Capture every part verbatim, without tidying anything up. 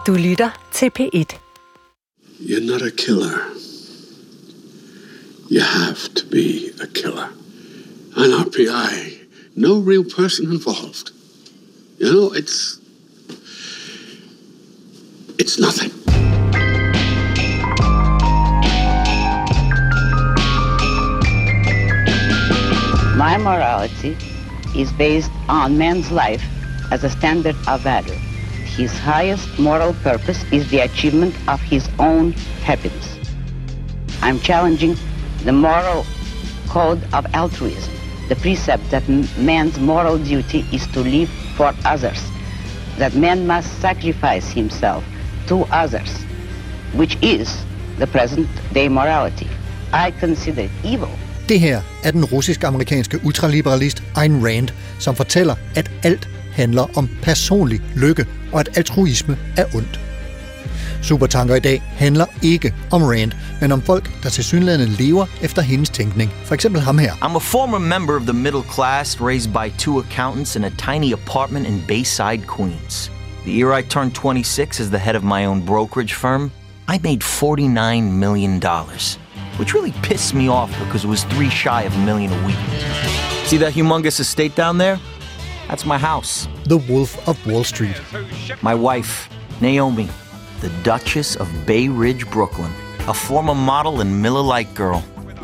Du lytter til P et. You're not a killer. You have to be a killer. An R P I, no real person involved. You know, it's... It's nothing. My morality is based on man's life as a standard of value. His highest moral purpose is the achievement of his own happiness. I'm challenging the moral code of altruism, the precept that man's moral duty is to live for others, that man must sacrifice himself to others, which is the present-day morality. I consider it evil. Det her er den russisk-amerikanske ultraliberalist Ayn Rand, som fortæller, at alt handler om personlig lykke, og at altruisme er ondt. Supertanker i dag handler ikke om Rand, men om folk, der tilsyneladende lever efter hendes tænkning. For eksempel ham her. I'm a former member of the middle class, raised by two accountants in a tiny apartment in Bayside, Queens. The year I turned twenty-six as the head of my own brokerage firm, I made forty-nine million dollars. Which really pissed me off because it was three shy of a million a week. See that humongous estate down there? That's my house. The Wolf of Wall Street. My wife, Naomi, the Duchess of Bay Ridge, Brooklyn. A former model and Miller Lite girl.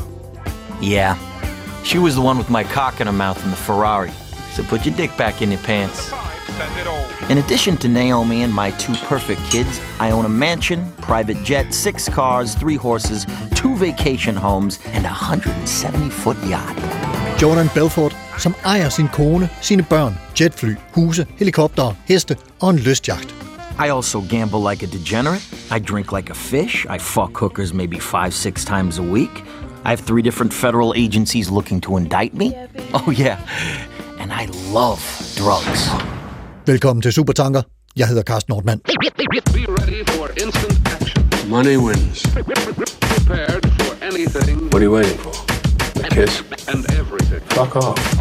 Yeah, she was the one with my cock in her mouth in the Ferrari. So put your dick back in your pants. In addition to Naomi and my two perfect kids, I own a mansion, private jet, six cars, three horses, two vacation homes, and a one hundred seventy foot yacht. Jordan Belfort, som ejer sin kone, sine børn, jetfly, huse, helikoptere, heste og en lystjagt. I also gamble like a degenerate. I drink like a fish. I fuck hookers maybe five, six times a week. I have three different federal agencies looking to indict me. Oh yeah, and I love drugs. Velkommen til Supertanker. Jeg hedder Carsten Nordmann. Be ready for instant action. Money wins. Prepared for anything. What are you waiting for? A kiss? And everything. Fuck off.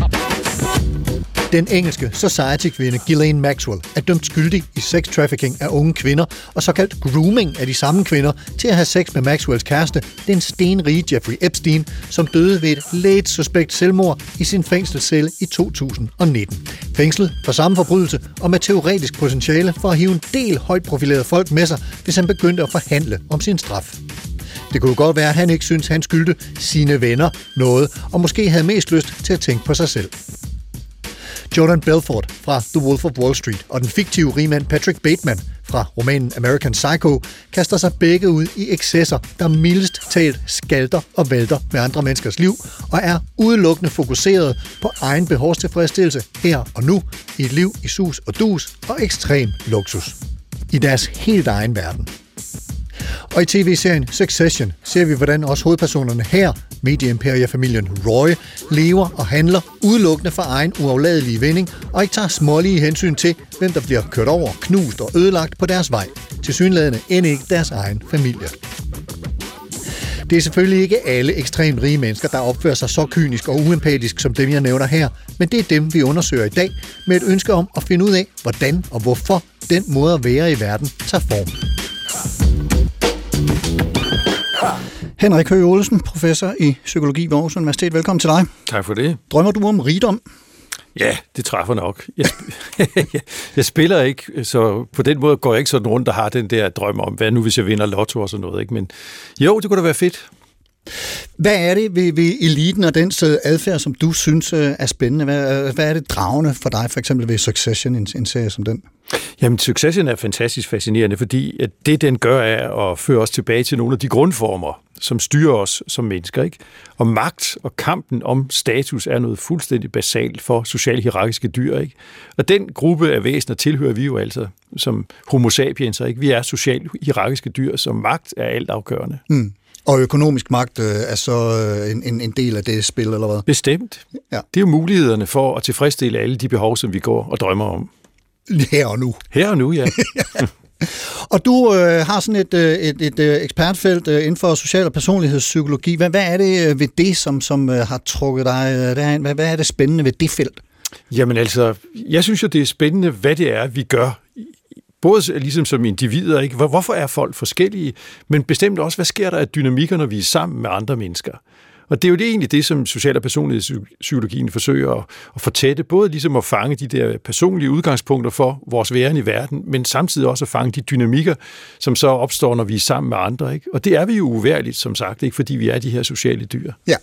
Den engelske society-kvinde Ghislaine Maxwell er dømt skyldig i sex-trafficking af unge kvinder og såkaldt grooming af de samme kvinder til at have sex med Maxwells kæreste, den stenrige Jeffrey Epstein, som døde ved et let suspekt selvmord i sin fængselscelle i to tusind og nitten. Fængslet for samme forbrydelse og med teoretisk potentiale for at hive en del højt profilerede folk med sig, hvis han begyndte at forhandle om sin straf. Det kunne godt være, at han ikke synes, han skyldte sine venner noget, og måske havde mest lyst til at tænke på sig selv. Jordan Belfort fra The Wolf of Wall Street og den fiktive rigmand Patrick Bateman fra romanen American Psycho kaster sig begge ud i excesser, der mildest talt skalter og vælter med andre menneskers liv og er udelukkende fokuseret på egen behovstilfredsstillelse her og nu i et liv i sus og dus og ekstrem luksus. I deres helt egen verden. Og i tv-serien Succession ser vi, hvordan også hovedpersonerne her, medieimperierfamilien Roy, lever og handler udelukkende for egen uafladelige vinding og ikke tager smålige hensyn til, hvem der bliver kørt over, knust og ødelagt på deres vej. Tilsyneladende end ikke deres egen familie. Det er selvfølgelig ikke alle ekstremt rige mennesker, der opfører sig så kynisk og uempatisk som dem, jeg nævner her, men det er dem, vi undersøger i dag med et ønske om at finde ud af, hvordan og hvorfor den måde at være i verden tager form. Henrik Høgh Olesen, professor i psykologi ved Aarhus Universitet. Velkommen til dig. Tak for det. Drømmer du om rigdom? Ja, det træffer nok. Jeg, sp- jeg spiller ikke, så på den måde går jeg ikke sådan rundt og har den der drøm om, hvad nu hvis jeg vinder lotto og sådan noget. Ikke? Men jo, det kunne da være fedt. Hvad er det ved, ved eliten og dens adfærd, som du synes er spændende? Hvad, hvad er det dragende for dig, for eksempel ved Succession, en, en serie som den? Jamen, Succession er fantastisk fascinerende, fordi at det, den gør, er at føre os tilbage til nogle af de grundformer, som styrer os som mennesker. Ikke? Og magt og kampen om status er noget fuldstændig basalt for socialt hierarkiske dyr. Ikke? Og den gruppe af væsener tilhører vi jo altså som homo sapiens. Ikke? Vi er socialt hierarkiske dyr, som magt er altafgørende. Mm. Og økonomisk magt øh, er så øh, en, en del af det spil, eller hvad? Bestemt. Ja. Det er jo mulighederne for at tilfredsstille alle de behov, som vi går og drømmer om. Her og nu. Her og nu, ja. Og du øh, har sådan et, et, et, et ekspertfelt øh, inden for social- og personlighedspsykologi. Hvad, hvad er det ved det, som, som øh, har trukket dig øh, derhen? Hvad, hvad er det spændende ved det felt? Jamen altså, jeg synes jo, det er spændende, hvad det er, vi gør Både ligesom som individer, ikke? Hvorfor er folk forskellige, men bestemt også, hvad sker der af dynamikker, når vi er sammen med andre mennesker? Og det er jo det egentlig det, som social- og personlighedspsykologien forsøger at, at fortætte, både ligesom at fange de der personlige udgangspunkter for vores væren i verden, men samtidig også at fange de dynamikker, som så opstår, når vi er sammen med andre. Ikke? Og det er vi jo uværligt, som sagt, ikke fordi vi er de her sociale dyr. Ja.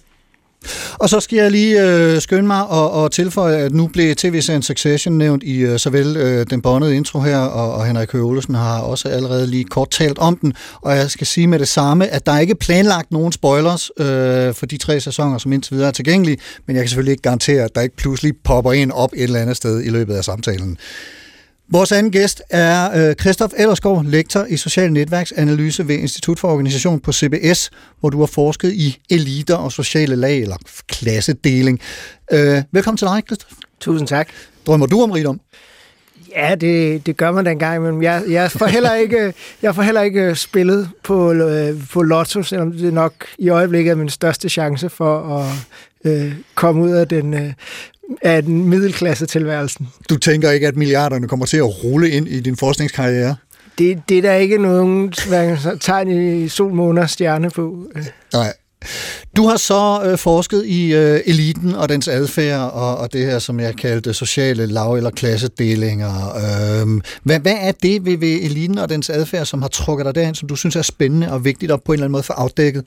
Og så skal jeg lige øh, skynde mig og, og tilføje, at nu blev tv-serien Succession nævnt i øh, såvel øh, den båndede intro her, og, og Henrik Høgh Olesen har også allerede lige kort talt om den, og jeg skal sige med det samme, at der er ikke planlagt nogen spoilers øh, for de tre sæsoner, som indtil videre er tilgængelige, men jeg kan selvfølgelig ikke garantere, at der ikke pludselig popper en op et eller andet sted i løbet af samtalen. Vores anden gæst er Christoph Ellersgaard, lektor i social netværksanalyse ved Institut for Organisation på C B S, hvor du har forsket i eliter og sociale lag, eller klassedeling. Øh, velkommen til dig, Christoph. Tusind tak. Drømmer du om rigdom? Ja, det, det gør man da engang, men jeg, jeg, får heller ikke, jeg får heller ikke spillet på, på lotto, selvom det nok i øjeblikket er min største chance for at øh, komme ud af den... Øh, af den middelklasse-tilværelsen. Du tænker ikke, at milliarderne kommer til at rulle ind i din forskningskarriere? Det, det er der ikke nogen tegn i sol, måne og stjerne på. Nej. Du har så øh, forsket i øh, eliten og dens adfærd, og, og det her, som jeg kaldte sociale lav- eller klassedelinger. Øh, hvad, hvad er det ved, ved eliten og dens adfærd, som har trukket dig derhen, som du synes er spændende og vigtigt at på en eller anden måde få afdækket?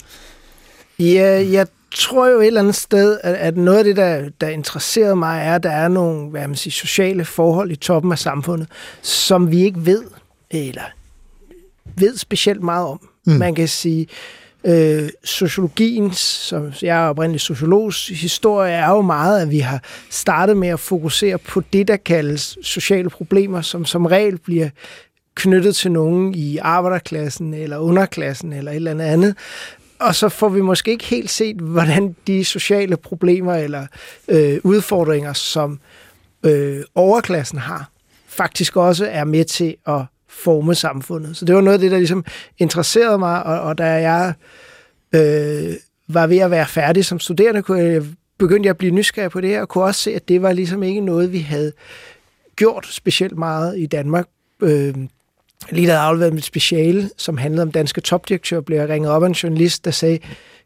Ja, jeg tror jo et eller andet sted, at, at noget af det, der, der interesserede mig, er, at der er nogle hvad man siger, sociale forhold i toppen af samfundet, som vi ikke ved, eller ved specielt meget om. Mm. Man kan sige, øh, sociologiens, som jeg er oprindelig sociologs historie, er jo meget, at vi har startet med at fokusere på det, der kaldes sociale problemer, som som regel bliver knyttet til nogen i arbejderklassen, eller underklassen, eller et eller andet andet. Og så får vi måske ikke helt set, hvordan de sociale problemer eller øh, udfordringer, som øh, overklassen har, faktisk også er med til at forme samfundet. Så det var noget af det, der ligesom interesserede mig, og, og da jeg øh, var ved at være færdig som studerende, kunne jeg, begyndte jeg at blive nysgerrig på det her, og kunne også se, at det var ligesom ikke noget, vi havde gjort specielt meget i Danmark. Øh, Lige da jeg afleverede mit speciale, som handlede om danske topdirektører, blev jeg ringet op af en journalist, der sagde,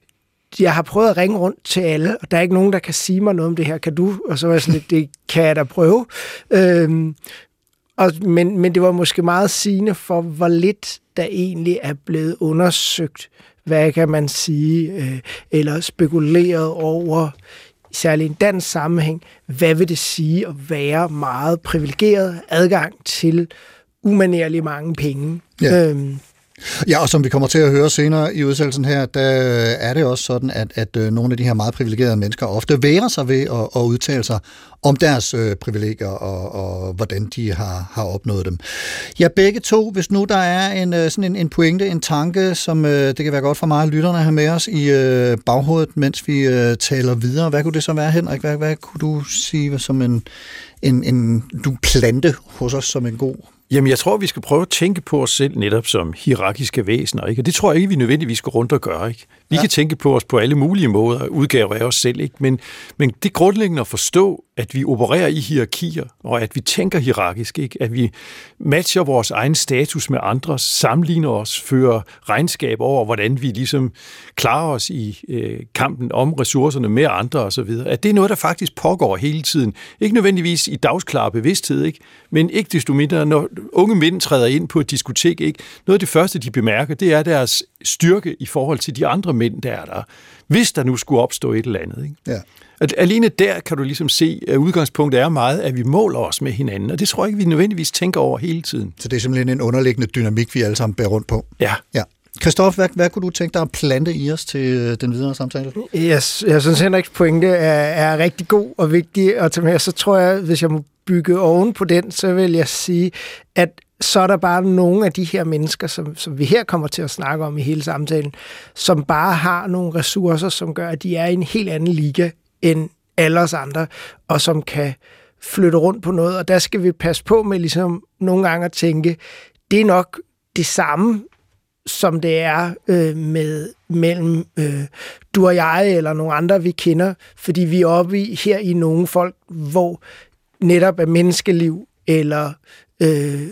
jeg har prøvet at ringe rundt til alle, og der er ikke nogen, der kan sige mig noget om det her. Kan du? Og så var jeg sådan lidt, det kan jeg da prøve. Øhm, og, men, men det var måske meget sigende for, hvor lidt der egentlig er blevet undersøgt, hvad kan man sige, øh, eller spekuleret over, særligt i en dansk sammenhæng, hvad vil det sige at være meget privilegeret adgang til umanerligt mange penge. Ja. Øhm. Ja, og som vi kommer til at høre senere i udsendelsen her, der er det også sådan, at, at nogle af de her meget privilegerede mennesker ofte vægrer sig ved at, at udtale sig om deres øh, privilegier og, og hvordan de har, har opnået dem. Ja, begge to, hvis nu der er en, sådan en, en pointe, en tanke, som øh, det kan være godt for mig, lytterne have med os i øh, baghovedet, mens vi øh, taler videre. Hvad kunne det så være, Henrik? Hvad, hvad kunne du sige som en, en, en du plante hos os som en god? Jamen, jeg tror, vi skal prøve at tænke på os selv netop som hierarkiske væsener, ikke? Og det tror jeg ikke, vi nødvendigvis skal rundt og gøre, ikke? Vi ja. kan tænke på os på alle mulige måder, udgaver af os selv, ikke? Men, men det grundlæggende at forstå, at vi opererer i hierarkier, og at vi tænker hierarkisk, ikke? At vi matcher vores egen status med andres, sammenligner os, fører regnskab over, hvordan vi ligesom klarer os i øh, kampen om ressourcerne med andre osv. At det er noget, der faktisk pågår hele tiden. Ikke nødvendigvis i dagsklar bevidsthed, ikke? Men ikke desto mindre, når unge mænd træder ind på et diskotek, ikke? Noget af det første, de bemærker, det er deres styrke i forhold til de andre mænd, der er der. Hvis der nu skulle opstå et eller andet, ikke? Ja. At alene der kan du ligesom se, at udgangspunktet er meget, at vi måler os med hinanden, og det tror jeg ikke, vi nødvendigvis tænker over hele tiden. Så det er simpelthen en underliggende dynamik, vi alle sammen bærer rundt på. Ja. Ja. Christoph, hvad, hvad kunne du tænke dig at plante i os til den videre samtale? Yes, jeg synes, Henriks pointe er, er rigtig god og vigtig at tage med. Så tror jeg, hvis jeg må bygge oven på den, så vil jeg sige, at så er der bare nogle af de her mennesker, som, som vi her kommer til at snakke om i hele samtalen, som bare har nogle ressourcer, som gør, at de er i en helt anden liga end alle os andre, og som kan flytte rundt på noget. Og der skal vi passe på med ligesom nogle gange at tænke, det er nok det samme, som det er øh, med mellem øh, du og jeg eller nogle andre, vi kender, fordi vi er oppe i, her i nogle folk, hvor netop er menneskeliv eller øh,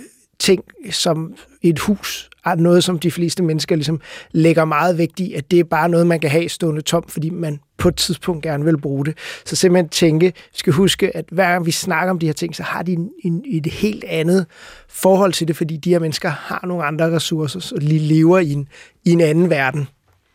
ting som et hus er noget, som de fleste mennesker ligesom lægger meget vægt i, at det er bare noget, man kan have stående tom, fordi man på et tidspunkt gerne vil bruge det. Så simpelthen tænke, vi skal huske, at hver gang vi snakker om de her ting, så har de en, en, et helt andet forhold til det, fordi de her mennesker har nogle andre ressourcer, så de lever i en, i en anden verden.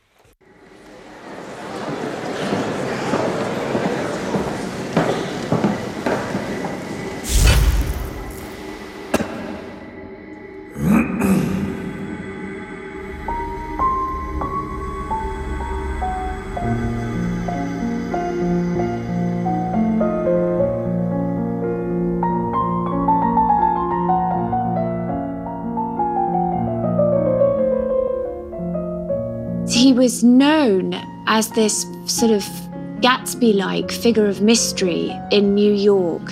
He was known as this sort of Gatsby-like figure of mystery in New York.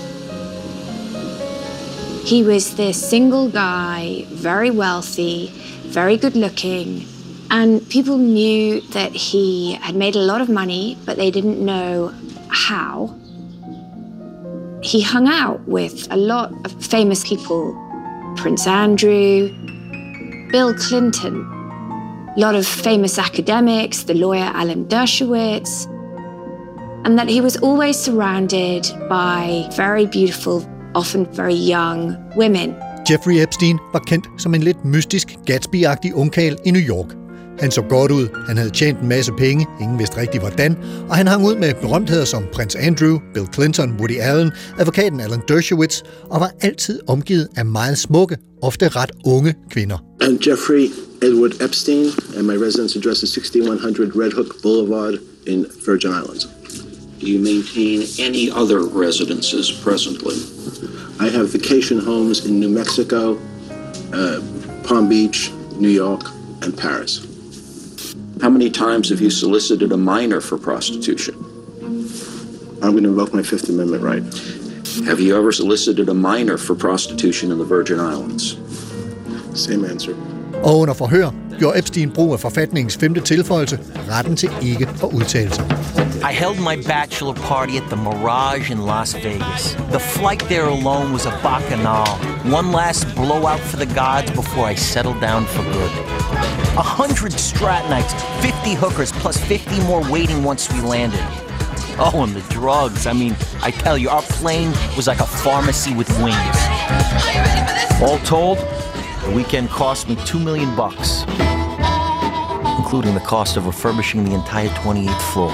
He was this single guy, very wealthy, very good looking, and people knew that he had made a lot of money, but they didn't know how. He hung out with a lot of famous people, Prince Andrew, Bill Clinton, a lot of famous academics, the lawyer Alan Dershowitz, and that he was always surrounded by very beautiful, often very young women. Jeffrey Epstein var kendt som en lidt mystisk, Gatsby-agtig ungkarl i New York. Han så godt ud, han havde tjent en masse penge, ingen vidste rigtig hvordan, og han hang ud med berømtheder som Prins Andrew, Bill Clinton, Woody Allen, advokaten Alan Dershowitz, og var altid omgivet af meget smukke, ofte ret unge kvinder. I'm Jeffrey Edward Epstein, and my residence address is sixty-one hundred Red Hook Boulevard in Virgin Islands. Do you maintain any other residences presently? I have vacation homes in New Mexico, uh, Palm Beach, New York, and Paris. How many times have you solicited a minor for prostitution? I'm going to invoke my Fifth Amendment right. Have you ever solicited a minor for prostitution in the Virgin Islands? Same answer. Og under forhør gjorde Epstein brug af forfatningens femte tilføjelse, retten til ikke at udtale sig. I held my bachelor party at the Mirage in Las Vegas. The flight there alone was a bacchanal. One last blowout for the gods before I settled down for good. A hundred strat nights, fifty hookers, plus fifty more waiting once we landed. Oh, and the drugs. I mean, I tell you, our plane was like a pharmacy with wings. All told, the weekend cost me two million bucks, including the cost of refurbishing the entire twenty-eighth floor.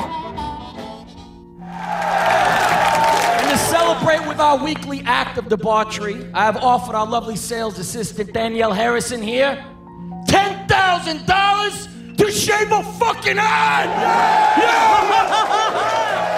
And to celebrate with our weekly act of debauchery, I have offered our lovely sales assistant Danielle Harrison here ten thousand dollars to shave a fucking head! Yeah! Yeah!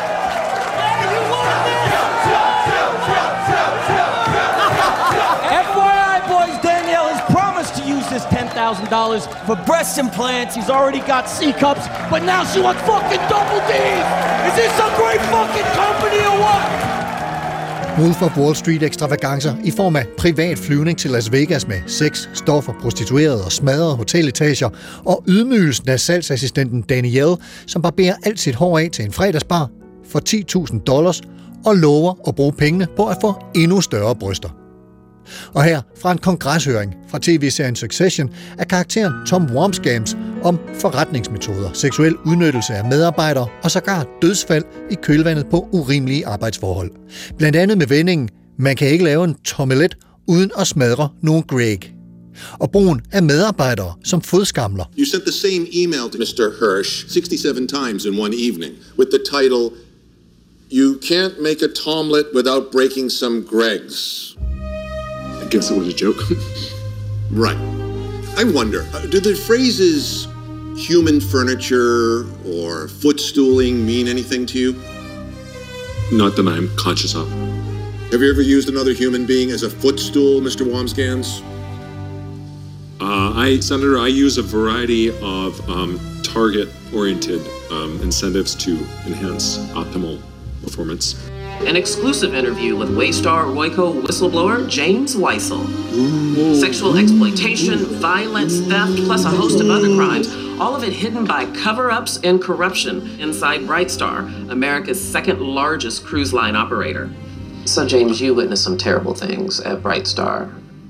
F Y I, boys, Danielle has promised to use this ten thousand dollars for breast implants. He's already got C-cups, but now she wants fucking double D's! Is this some great fucking company or what? Wolf of Wall Street ekstravagancer i form af privat flyvning til Las Vegas med sex, stoffer, prostituerede og smadrede hoteletager, og ydmygelsen af salgsassistenten Danielle, som barberer alt sit hår af til en fredagsbar for ti tusind dollars og lover at bruge pengene på at få endnu større bryster. Og her fra en kongreshøring fra tv-serien Succession er karakteren Tom Wambsgans om forretningsmetoder, seksuel udnyttelse af medarbejdere og sågar dødsfald i kølvandet på urimelige arbejdsforhold. Blandt andet med vendingen, man kan ikke lave en tomelet uden at smadre nogle Greg. Og brugen af medarbejdere som fodskamler. You sent the same email to mister Hirsch sixty-seven times in one evening with the title, "You can't make a tomlet without breaking some Gregs." I guess it was a joke. Right. I wonder, uh, do the phrases human furniture or footstooling mean anything to you? Not that I'm conscious of. Have you ever used another human being as a footstool, mister Wambsgans? Uh, I, Senator, I use a variety of um, target-oriented um, incentives to enhance optimal performance. An exclusive interview with Waystar Royco whistleblower James Weissel. Ooh. Sexual exploitation, violence, theft, plus a host of other crimes, all of it hidden by cover-ups and corruption inside Brightstar, America's second largest cruise line operator. So James, you witnessed some terrible things at Brightstar.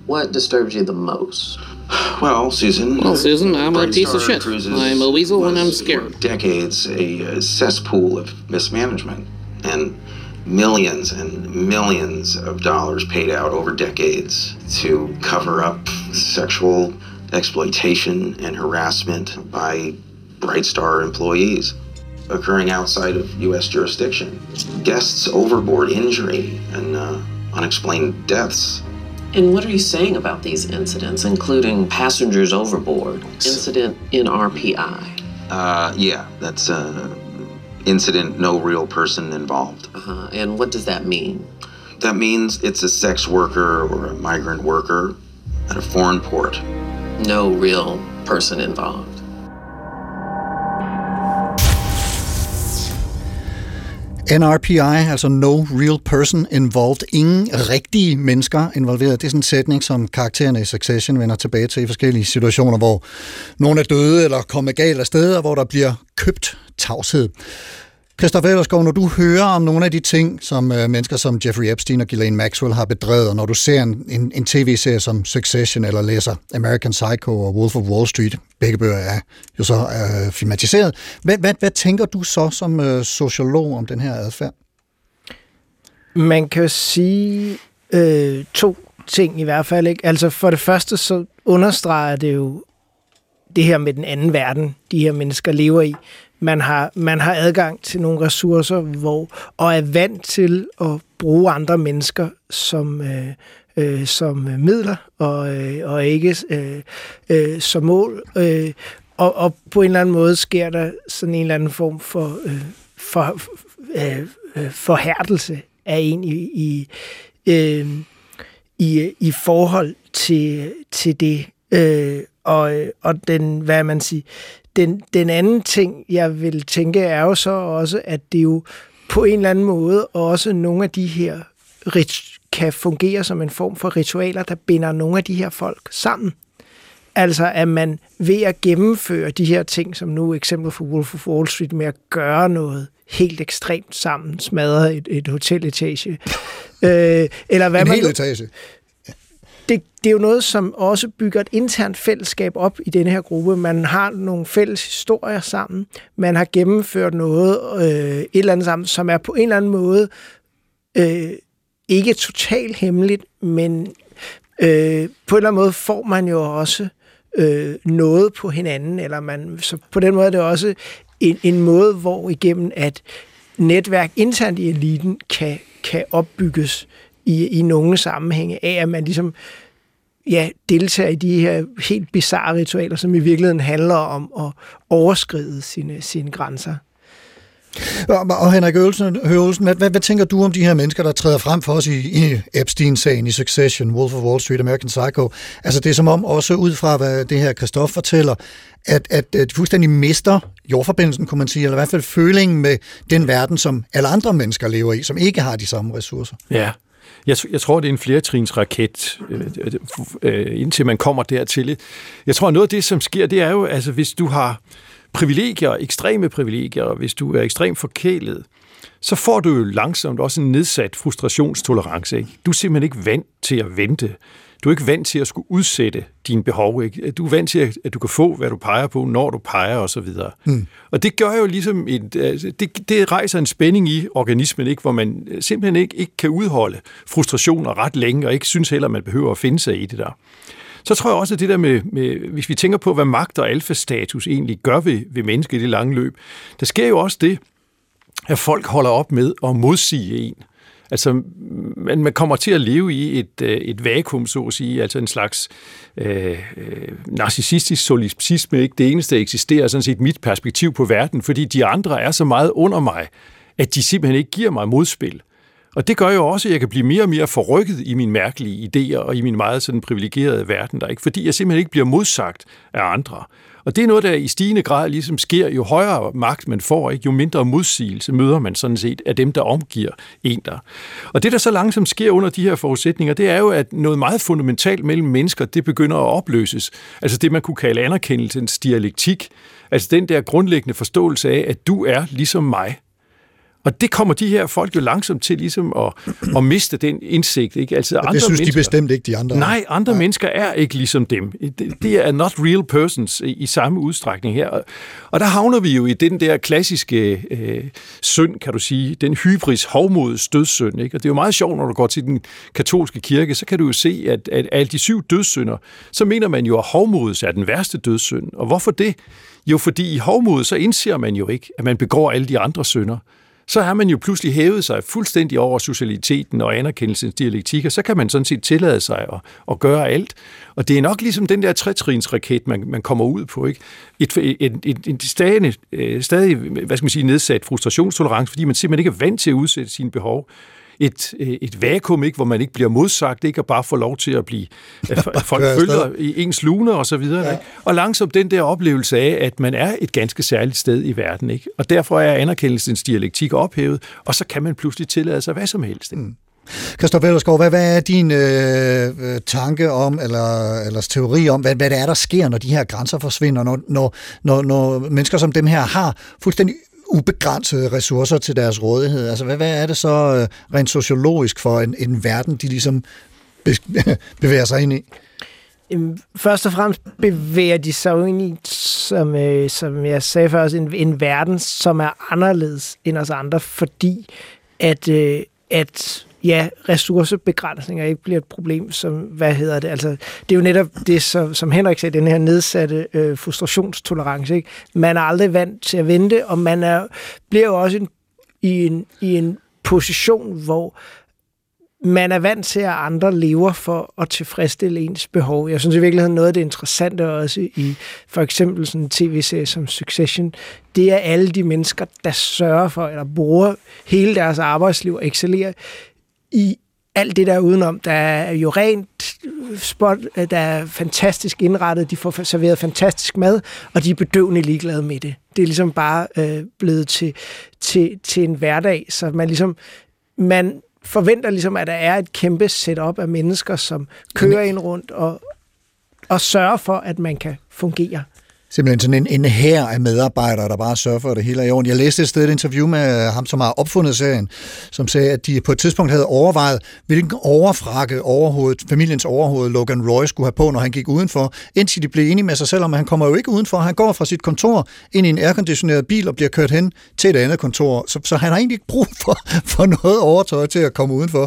What disturbs you the most? Well, Susan. Well, Susan, I'm a piece of shit. I'm a weasel when I'm scared. For decades, a, a cesspool of mismanagement, and millions and millions of dollars paid out over decades to cover up sexual exploitation and harassment by Bright Star employees occurring outside of U S jurisdiction. Guests overboard injury and uh, unexplained deaths. And what are you saying about these incidents, including passengers overboard, incident in R P I? Uh, yeah, that's uh, incident, no real person involved. Uh-huh. And what does that mean? That means it's a sex worker or a migrant worker at a foreign port. No real person involved. N R P I, altså No Real Person Involved. Ingen rigtige mennesker involveret. Det er sådan en sætning, som karaktererne i Succession vender tilbage til i forskellige situationer, hvor nogen er døde eller kommet galt af sted, og hvor der bliver købt tavshed. Christopher Ellersgaard, når du hører om nogle af de ting, som øh, mennesker som Jeffrey Epstein og Ghislaine Maxwell har bedrevet, og når du ser en, en, en tv-serie som Succession eller læser American Psycho og Wolf of Wall Street, begge bøger er jo så øh, filmatiseret, hvad, hvad, hvad tænker du så som øh, sociolog om den her adfærd? Man kan jo sige øh, to ting i hvert fald, ikke? Altså for det første så understreger det jo det her med den anden verden, de her mennesker lever i. Man har, man har adgang til nogle ressourcer, hvor, og er vant til at bruge andre mennesker som, øh, øh, som midler, og, øh, og ikke øh, øh, som mål. Øh, og, og på en eller anden måde sker der sådan en eller anden form for, øh, for øh, øh, forhærdelse af en i, i, øh, i, i forhold til, til det. Øh, og, og den, hvad man siger, Den, den anden ting, jeg vil tænke, er jo så også, at det jo på en eller anden måde også nogle af de her rit- kan fungere som en form for ritualer, der binder nogle af de her folk sammen. Altså, at man ved at gennemføre de her ting, som nu eksempel for Wolf of Wall Street, med at gøre noget helt ekstremt sammen, smadre et, et hoteletage. øh, eller hvad en man hel etage. Det, det er jo noget, som også bygger et internt fællesskab op i denne her gruppe. Man har nogle fælles historier sammen. Man har gennemført noget, øh, et eller andet sammen, som er på en eller anden måde øh, ikke totalt hemmeligt, men øh, på en eller anden måde får man jo også øh, noget på hinanden. Eller man, så på den måde er det også en, en måde, hvor igennem at netværk internt i eliten kan, kan opbygges i, i nogle sammenhænge af, at man ligesom ja, deltager i de her helt bizarre ritualer, som i virkeligheden handler om at overskride sine, sine grænser. Og, og Henrik Øvelsen, Høvelsen, hvad, hvad, hvad tænker du om de her mennesker, der træder frem for os i, i Epstein-sagen, i Succession, Wolf of Wall Street, American Psycho? Altså det er som om, også ud fra hvad det her Christoph fortæller, at, at, at de fuldstændig mister jordforbindelsen, kunne man sige, eller i hvert fald følingen med den verden, som alle andre mennesker lever i, som ikke har de samme ressourcer. Ja. Jeg, jeg tror, det er en flertrins raket, øh, øh, indtil man kommer dertil. Jeg tror, noget af det, som sker, det er jo, altså hvis du har privilegier, ekstreme privilegier, hvis du er ekstremt forkælet, så får du jo langsomt også en nedsat frustrationstolerance. Ikke? Du er simpelthen ikke vant til at vente. Du er ikke vant til at skulle udsætte dine behov. Ikke? Du er vant til, at du kan få, hvad du peger på, når du peger osv. Mm. Og det gør jo ligesom, et, det, det rejser en spænding i organismen, ikke? Hvor man simpelthen ikke, ikke kan udholde frustrationer ret længe, og ikke synes heller, man behøver at finde sig i det der. Så tror jeg også, at det der med, med hvis vi tænker på, hvad magt og alfastatus egentlig gør ved, ved mennesket i det lange løb, der sker jo også det, at folk holder op med at modsige en. Altså, man, man kommer til at leve i et, et vakuum, så at sige, altså en slags øh, narcissistisk solipsisme, ikke det eneste, der eksisterer, sådan set mit perspektiv på verden, fordi de andre er så meget under mig, at de simpelthen ikke giver mig modspil. Og det gør jo også, at jeg kan blive mere og mere forrykket i mine mærkelige idéer og i min meget sådan privilegerede verden, der ikke, fordi jeg simpelthen ikke bliver modsagt af andre. Og det er noget, der i stigende grad ligesom sker, jo højere magt man får, ikke? Jo mindre modsigelse møder man sådan set af dem, der omgiver en der. Og det, der så langsomt sker under de her forudsætninger, det er jo, at noget meget fundamentalt mellem mennesker, det begynder at opløses. Altså det, man kunne kalde anerkendelsens dialektik. Altså den der grundlæggende forståelse af, at du er ligesom mig. Og det kommer de her folk jo langsomt til ligesom at, at miste den indsigt. Ikke? Altså, andre det synes mennesker, de bestemt ikke, de andre. Nej, andre nej. mennesker er ikke ligesom dem. Det, det er not real persons i, i samme udstrækning her. Og der havner vi jo i den der klassiske øh, synd, kan du sige, den hybris hovmods dødssynd. Ikke? Og det er jo meget sjovt, når du går til den katolske kirke, så kan du jo se, at, at af de syv dødssynder, så mener man jo, at hovmods er den værste dødssynd. Og hvorfor det? Jo, fordi i hovmod, så indser man jo ikke, at man begår alle de andre synder. Så har man jo pludselig hævet sig fuldstændig over socialiteten og anerkendelsens dialektik, og så kan man sådan set tillade sig at, at gøre alt. Og det er nok ligesom den der tretrinsraket, man, man kommer ud på, ikke? Et, et, et, et stadig, stadig, hvad skal man sige, nedsat frustrationstolerance, fordi man simpelthen ikke er vant til at udsætte sine behov. Et, et vakuum, ikke, hvor man ikke bliver modsagt, ikke, og bare får lov til at blive, at folk følger i ens luner og så videre. Ja. Ikke? Og langsomt den der oplevelse af, at man er et ganske særligt sted i verden. Ikke? Og derfor er anerkendelsens dialektik ophævet, og så kan man pludselig tillade sig hvad som helst. Ikke? Mm. Christoph Ellersgaard, hvad, hvad er din øh, tanke om, eller, eller teori om, hvad, hvad det er, der sker, når de her grænser forsvinder, når, når, når, når mennesker som dem her har fuldstændig ubegrænsede ressourcer til deres rådighed. Altså, hvad, hvad er det så rent sociologisk for en, en verden, de ligesom bevæger sig ind i? Først og fremmest bevæger de sig jo ind i, som, øh, som jeg sagde før, en, en verden, som er anderledes end os andre, fordi at, øh, at ja, ressourcebegrænsninger ikke bliver et problem, som, hvad hedder det, altså, det er jo netop det, som, som Henrik sagde, den her nedsatte øh, frustrationstolerance, ikke? Man er aldrig vant til at vente, og man er, bliver jo også en, i, en, i en position, hvor man er vant til, at andre lever for at tilfredsstille ens behov. Jeg synes i virkeligheden, noget af det interessante også i for eksempel sådan en tv-serie som Succession, det er alle de mennesker, der sørger for, eller bruger hele deres arbejdsliv og excellerer i alt det der udenom. Der er jo rent spot, der er fantastisk indrettet, de får serveret fantastisk mad, og de er bedøvende ligeglade med det. Det er ligesom bare øh, blevet til, til, til en hverdag, så man ligesom, man forventer ligesom, at der er et kæmpe setup af mennesker, som kører ind rundt og, og sørger for, at man kan fungere. Simpelthen sådan en, en hær af medarbejdere, der bare sørger for, at det hele er i orden. Jeg læste et sted et interview med ham, som har opfundet serien, som sagde, at de på et tidspunkt havde overvejet, hvilken overfrakke overhovedet, familiens overhoved Logan Roy skulle have på, når han gik udenfor, indtil de blev enige med sig selv om, at han kommer jo ikke udenfor. Han går fra sit kontor ind i en airconditioneret bil og bliver kørt hen til et andet kontor. Så, så han har egentlig ikke brug for, for noget overtøj til at komme udenfor.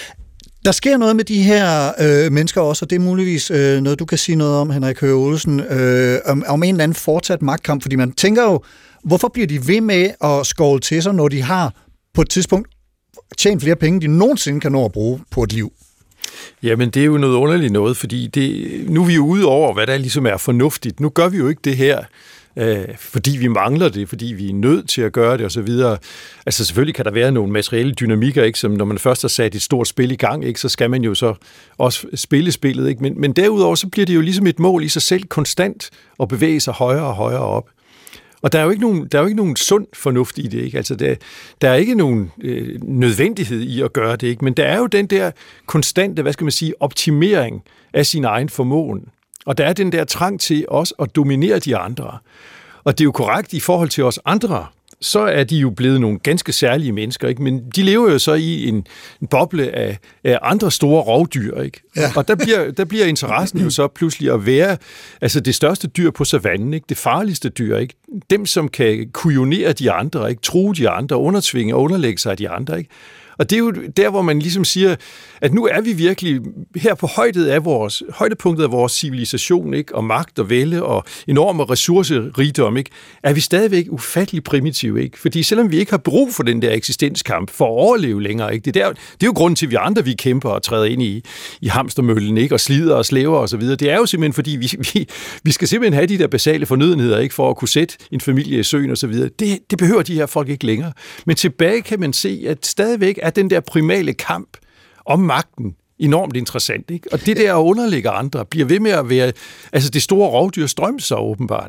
Der sker noget med de her øh, mennesker også, og det er muligvis øh, noget, du kan sige noget om, Henrik Høegh Olesen, øh, om, om en eller anden fortsat magtkamp, fordi man tænker jo, hvorfor bliver de ved med at skåle til sig, når de har på et tidspunkt tjent flere penge, de nogensinde kan nå at bruge på et liv? Jamen, det er jo noget underligt noget, fordi det, nu er vi jo ude over, hvad der ligesom er fornuftigt. Nu gør vi jo ikke det her, øh, fordi vi mangler det, fordi vi er nødt til at gøre det osv. Altså selvfølgelig kan der være nogle materielle dynamikker, ikke, som når man først har sat et stort spil i gang, ikke, så skal man jo så også spille spillet. Ikke? Men, men derudover så bliver det jo ligesom et mål i sig selv konstant at bevæge sig højere og højere op. Og der er jo ikke nogen, der er jo ikke nogen sund fornuft i det, ikke? Altså der, der er ikke nogen øh, nødvendighed i at gøre det, ikke? Men der er jo den der konstante, hvad skal man sige, optimering af sin egen formåen. Og der er den der trang til også at dominere de andre. Og det er jo korrekt i forhold til os andre, så er de jo blevet nogle ganske særlige mennesker, ikke? Men de lever jo så i en, en boble af, af andre store rovdyr, ikke? Ja. Og der bliver, der bliver interessen jo så pludselig at være altså det største dyr på savannen, ikke? Det farligste dyr, ikke? Dem, som kan kujonere de andre, ikke? True de andre, undertvinge og underlægge sig af de andre, ikke? Og det er jo der, hvor man ligesom siger, at nu er vi virkelig her på højdet af vores, højdepunktet af vores civilisation, ikke? Og magt og vælde og enorme ressourcerigdom, ikke? Er vi stadigvæk ufattelig primitive, ikke? Fordi selvom vi ikke har brug for den der eksistenskamp for at overleve længere, ikke? Det er, der, det er jo grunden til, at vi andre vi kæmper og træder ind i, i hamstermøllen, ikke? Og slider og slæver og så videre. Det er jo simpelthen fordi, vi, vi, vi skal simpelthen have de der basale fornødenheder, ikke? For at kunne sætte en familie i søen og så videre. Det, det behøver de her folk ikke længere. Men tilbage kan man se, at stadigvæk er den der primale kamp om magten enormt interessant, ikke? Og det der at underlægge andre bliver ved med at være, altså det store rovdyr strømmer sig åbenbart, ikke?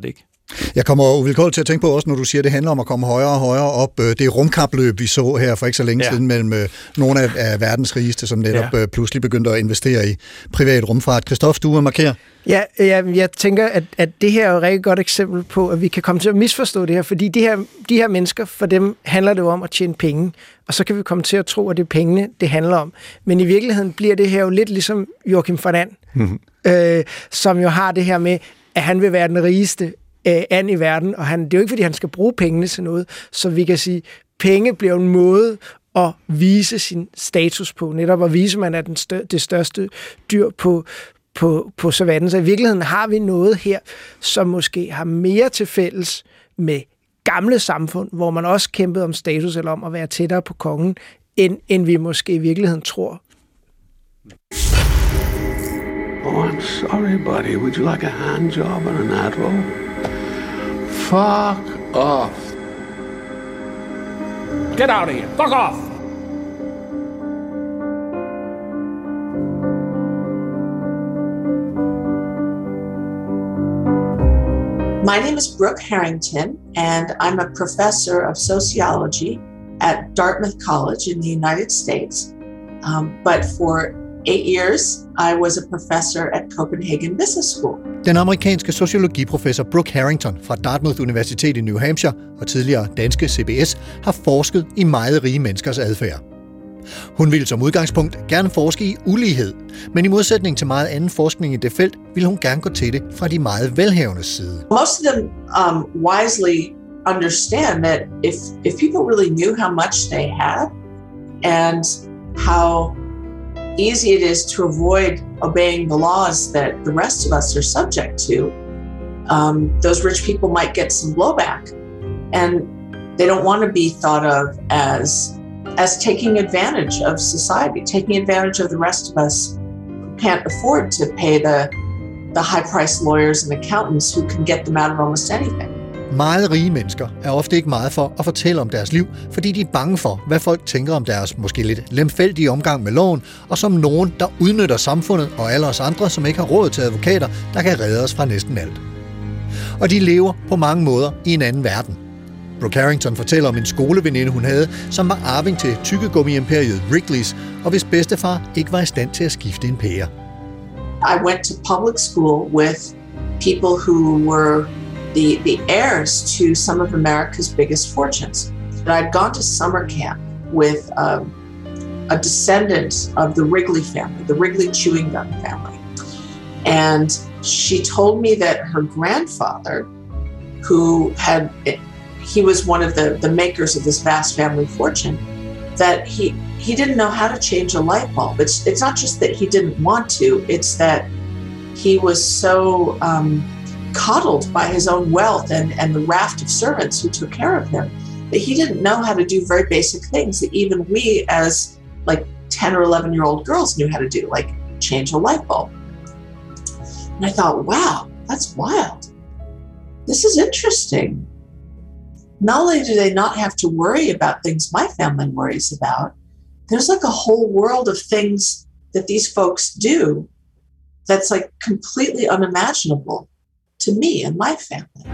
Jeg kommer uvilkårligt til at tænke på også, når du siger, at det handler om at komme højere og højere op. Det rumkapløb, vi så her for ikke så længe ja. siden mellem nogle af, af verdens rigeste, som netop ja. pludselig begyndte at investere i privat rumfart. Christoph, du vil markere? Ja, jeg, jeg tænker, at, at det her er et rigtig godt eksempel på, at vi kan komme til at misforstå det her, fordi de her, de her mennesker, for dem handler det jo om at tjene penge, og så kan vi komme til at tro, at det er pengene, det handler om. Men i virkeligheden bliver det her jo lidt ligesom Joachim von And, mm-hmm. øh, som jo har det her med, at han vil være den rigeste and i verden, og han, det er jo ikke, fordi han skal bruge pengene til noget, så vi kan sige, penge bliver en måde at vise sin status på, netop at vise, at man er den stør, det største dyr på, på, på savannen. Så i virkeligheden har vi noget her, som måske har mere til fælles med gamle samfund, hvor man også kæmpede om status, eller om at være tættere på kongen, end, end vi måske i virkeligheden tror. Oh, I'm sorry, buddy. Would you like a hand job or an ad roll? Fuck off. Get out of here. Fuck off. My name is Brooke Harrington, and I'm a professor of sociology at Dartmouth College in the United States. Um, but for eight years, I was a professor at Copenhagen Business School. Den amerikanske sociologiprofessor Brooke Harrington fra Dartmouth Universitet i New Hampshire og tidligere danske C B S har forsket i meget rige menneskers adfærd. Hun ville som udgangspunkt gerne forske i ulighed, men i modsætning til meget anden forskning i det felt, ville hun gerne gå til det fra de meget velhavendes side. Most of them um, wisely understand that if, if people really knew how much they had and how easy it is to avoid obeying the laws that the rest of us are subject to, um, those rich people might get some blowback. And they don't want to be thought of as, as taking advantage of society, taking advantage of the rest of us who can't afford to pay the, the high-priced lawyers and accountants who can get them out of almost anything. Meget rige mennesker er ofte ikke meget for at fortælle om deres liv, fordi de er bange for, hvad folk tænker om deres måske lidt lemfældige omgang med loven, og som nogen, der udnytter samfundet og alle os andre, som ikke har råd til advokater, der kan redde os fra næsten alt. Og de lever på mange måder i en anden verden. Brooke Harrington fortæller om en skoleveninde, hun havde, som var arving til tyggegummi-imperiet Wrigley's, og hvis bedstefar ikke var i stand til at skifte en pære. I went to public school with people who were The, the heirs to some of America's biggest fortunes. And I'd gone to summer camp with um, a descendant of the Wrigley family, the Wrigley chewing gum family. And she told me that her grandfather, who had, he was one of the, the makers of this vast family fortune, that he, he didn't know how to change a light bulb. It's, it's not just that he didn't want to, it's that he was so um, coddled by his own wealth and, and the raft of servants who took care of him, that he didn't know how to do very basic things that even we as like ten or eleven year old girls knew how to do, like change a light bulb. And I thought, wow, that's wild. This is interesting. Not only do they not have to worry about things my family worries about, there's like a whole world of things that these folks do that's like completely unimaginable to me and my family.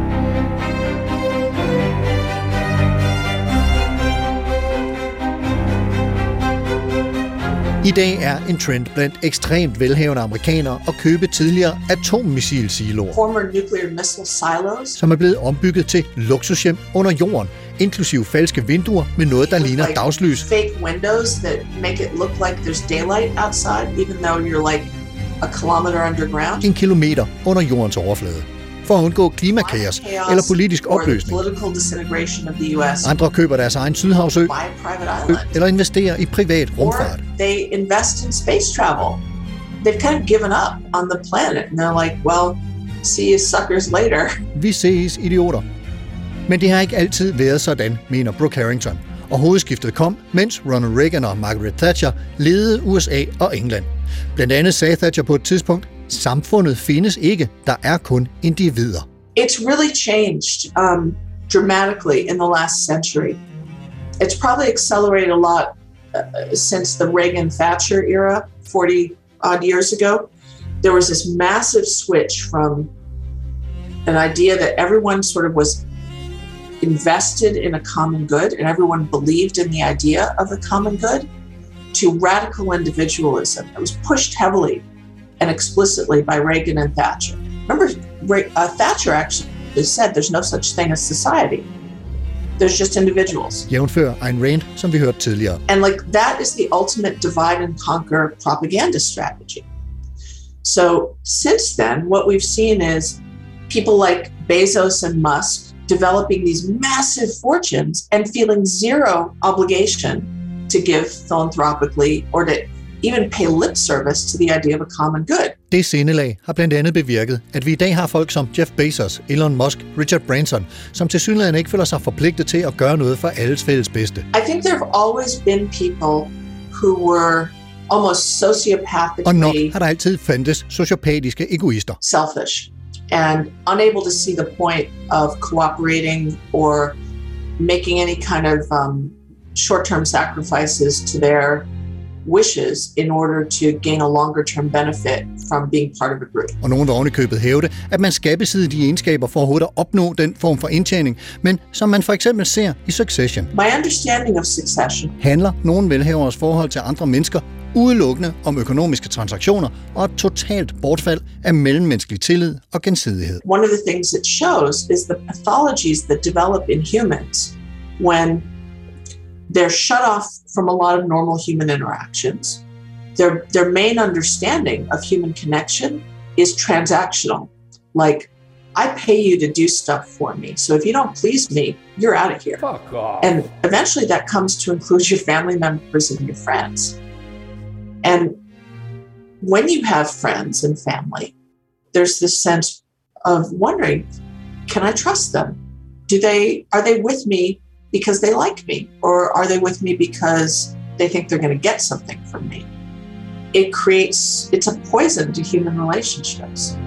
I dag er en trend blandt ekstremt velhavende amerikanere at købe tidligere atommissilsiloer, Former nuclear missile silos, som er blevet ombygget til luksushjem under jorden, inklusive falske vinduer med noget, der ligner like dagslys. Fake windows that make it look like there's daylight outside, even though you're like a kilometer underground. En kilometer under jordens overflade. For at undgå klimakaos eller politisk opløsning. Andre køber deres egen Sydhavsø eller investerer i privat rumfart. They invest in space travel. They've kind of given up on the planet, and they're like, well, see you suckers later. Vi ses, idioter. Men det har ikke altid været sådan, mener Brooke Harrington. Og hovedskiftet kom, mens Ronald Reagan og Margaret Thatcher ledede U S A og England. Blandt andet sagde Thatcher på et tidspunkt, samfundet findes ikke, der er kun individer. It's really changed um, dramatically in the last century. It's probably accelerated a lot uh, since the Reagan-Thatcher era, forty odd years ago. There was this massive switch from an idea that everyone sort of was invested in a common good and everyone believed in the idea of the common good, to radical individualism that was pushed heavily and explicitly by Reagan and Thatcher. Remember, uh, Thatcher actually said there's no such thing as society. There's just individuals. Jævnfør Ayn Rand, som vi hørte tidligere. And like that is the ultimate divide and conquer propaganda strategy. So since then, what we've seen is people like Bezos and Musk developing these massive fortunes and feeling zero obligation to give philanthropically or to even pay lip service to the idea of a common good. Det sindelag har blandt andet bevirket, at vi i dag har folk som Jeff Bezos, Elon Musk, Richard Branson, som tilsyneladende ikke føler sig forpligtet til at gøre noget for alles fælles bedste. I think there have always been people who were almost sociopathically... Og nok har der altid fandtes sociopatiske egoister. Selfish and unable to see the point of cooperating or making any kind of um, short-term sacrifices to their wishes in order to gain a longer-term benefit from being part of a group. Og nogen vil ovenikøbet hævde, at man skal besidde de egenskaber for overhovedet at opnå den form for indtjening, men som man for eksempel ser i Succession. My understanding of Succession handler nogen velhavers forhold til andre mennesker udelukkende om økonomiske transaktioner og et totalt bortfald af mellemmenneskelig tillid og gensidighed. One of the things it shows is the pathologies that develop in humans when they're shut off from a lot of normal human interactions. Their, their main understanding of human connection is transactional. Like, I pay you to do stuff for me, so if you don't please me, you're out of here. Fuck off. And eventually that comes to include your family members and your friends. And when you have friends and family, there's this sense of wondering, can I trust them? Do they, are they with me because they like me? Or are they with me because they think they're going to get something from me? It creates, it's a poison to human relationships.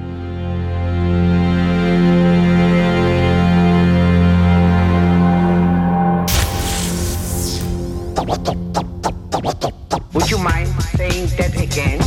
Would you mind saying that again?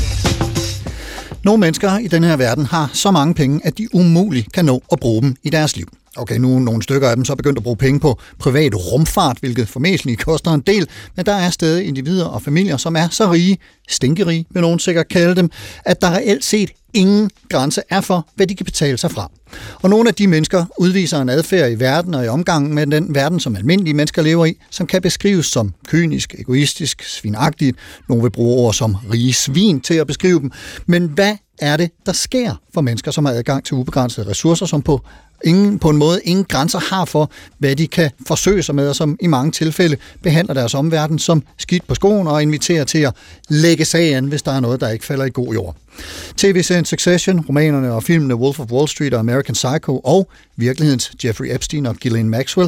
Nogle mennesker i den her verden har så mange penge, at de umuligt kan nå at bruge dem i deres liv. Okay, nu er nogle stykker af dem så begyndt at bruge penge på privat rumfart, hvilket formentlig koster en del, men der er stadig individer og familier, som er så rige, stinkerige vil nogen sikkert kalde dem, at der reelt set ingen grænse er for, hvad de kan betale sig fra. Og nogle af de mennesker udviser en adfærd i verden og i omgangen med den verden, som almindelige mennesker lever i, som kan beskrives som kynisk, egoistisk, svinagtigt. Nogle vil bruge ord som rige svin til at beskrive dem. Men hvad er det, der sker for mennesker, som har adgang til ubegrænsede ressourcer, som på ingen, på en måde ingen grænser har for, hvad de kan forsøge sig med, og som i mange tilfælde behandler deres omverden som skidt på skoen og inviterer til at lægge sag an, hvis der er noget, der ikke falder i god jord. T V-serien Succession, romanerne og filmene Wolf of Wall Street og American Psycho og virkelighedens Jeffrey Epstein og Ghislaine Maxwell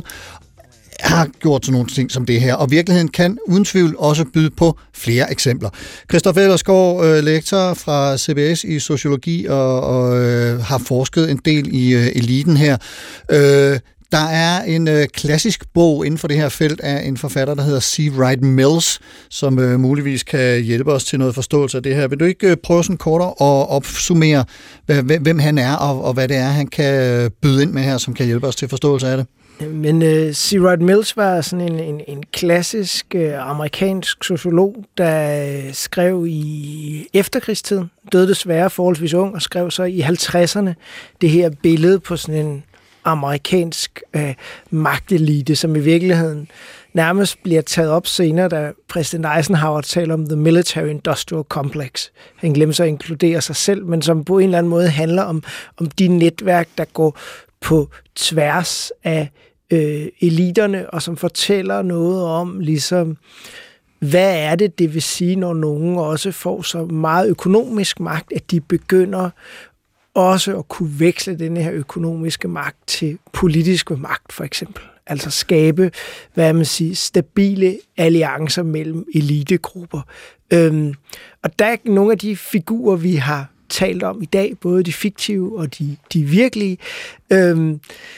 har gjort sådan nogle ting som det her, og virkeligheden kan uden tvivl også byde på flere eksempler. Christoph Ellersgaard, øh, lektor fra C B S i sociologi og, og øh, har forsket en del i øh, eliten her. Øh, Der er en øh, klassisk bog inden for det her felt af en forfatter, der hedder C. Wright Mills, som øh, muligvis kan hjælpe os til noget forståelse af det her. Vil du ikke øh, prøve sådan kort at opsummere, hvem han er, og, og hvad det er, han kan byde ind med her, som kan hjælpe os til forståelse af det? Men uh, C. Wright Mills var sådan en, en, en klassisk uh, amerikansk sociolog, der uh, skrev i efterkrigstiden, døde desværre forholdsvis ung, og skrev så i halvtredserne det her billede på sådan en amerikansk øh, magtelite, som i virkeligheden nærmest bliver taget op senere, da præsident Eisenhower taler om The Military Industrial Complex. Han glemmer så at inkludere sig selv, men som på en eller anden måde handler om, om de netværk, der går på tværs af øh, eliterne, og som fortæller noget om, ligesom, hvad er det, det vil sige, når nogen også får så meget økonomisk magt, at de begynder også at kunne veksle denne her økonomiske magt til politisk magt, for eksempel. Altså skabe, hvad man siger, stabile alliancer mellem elitegrupper. Øhm, og der er nogle af de figurer, vi har talt om i dag, både de fiktive og de, de virkelige, øhm,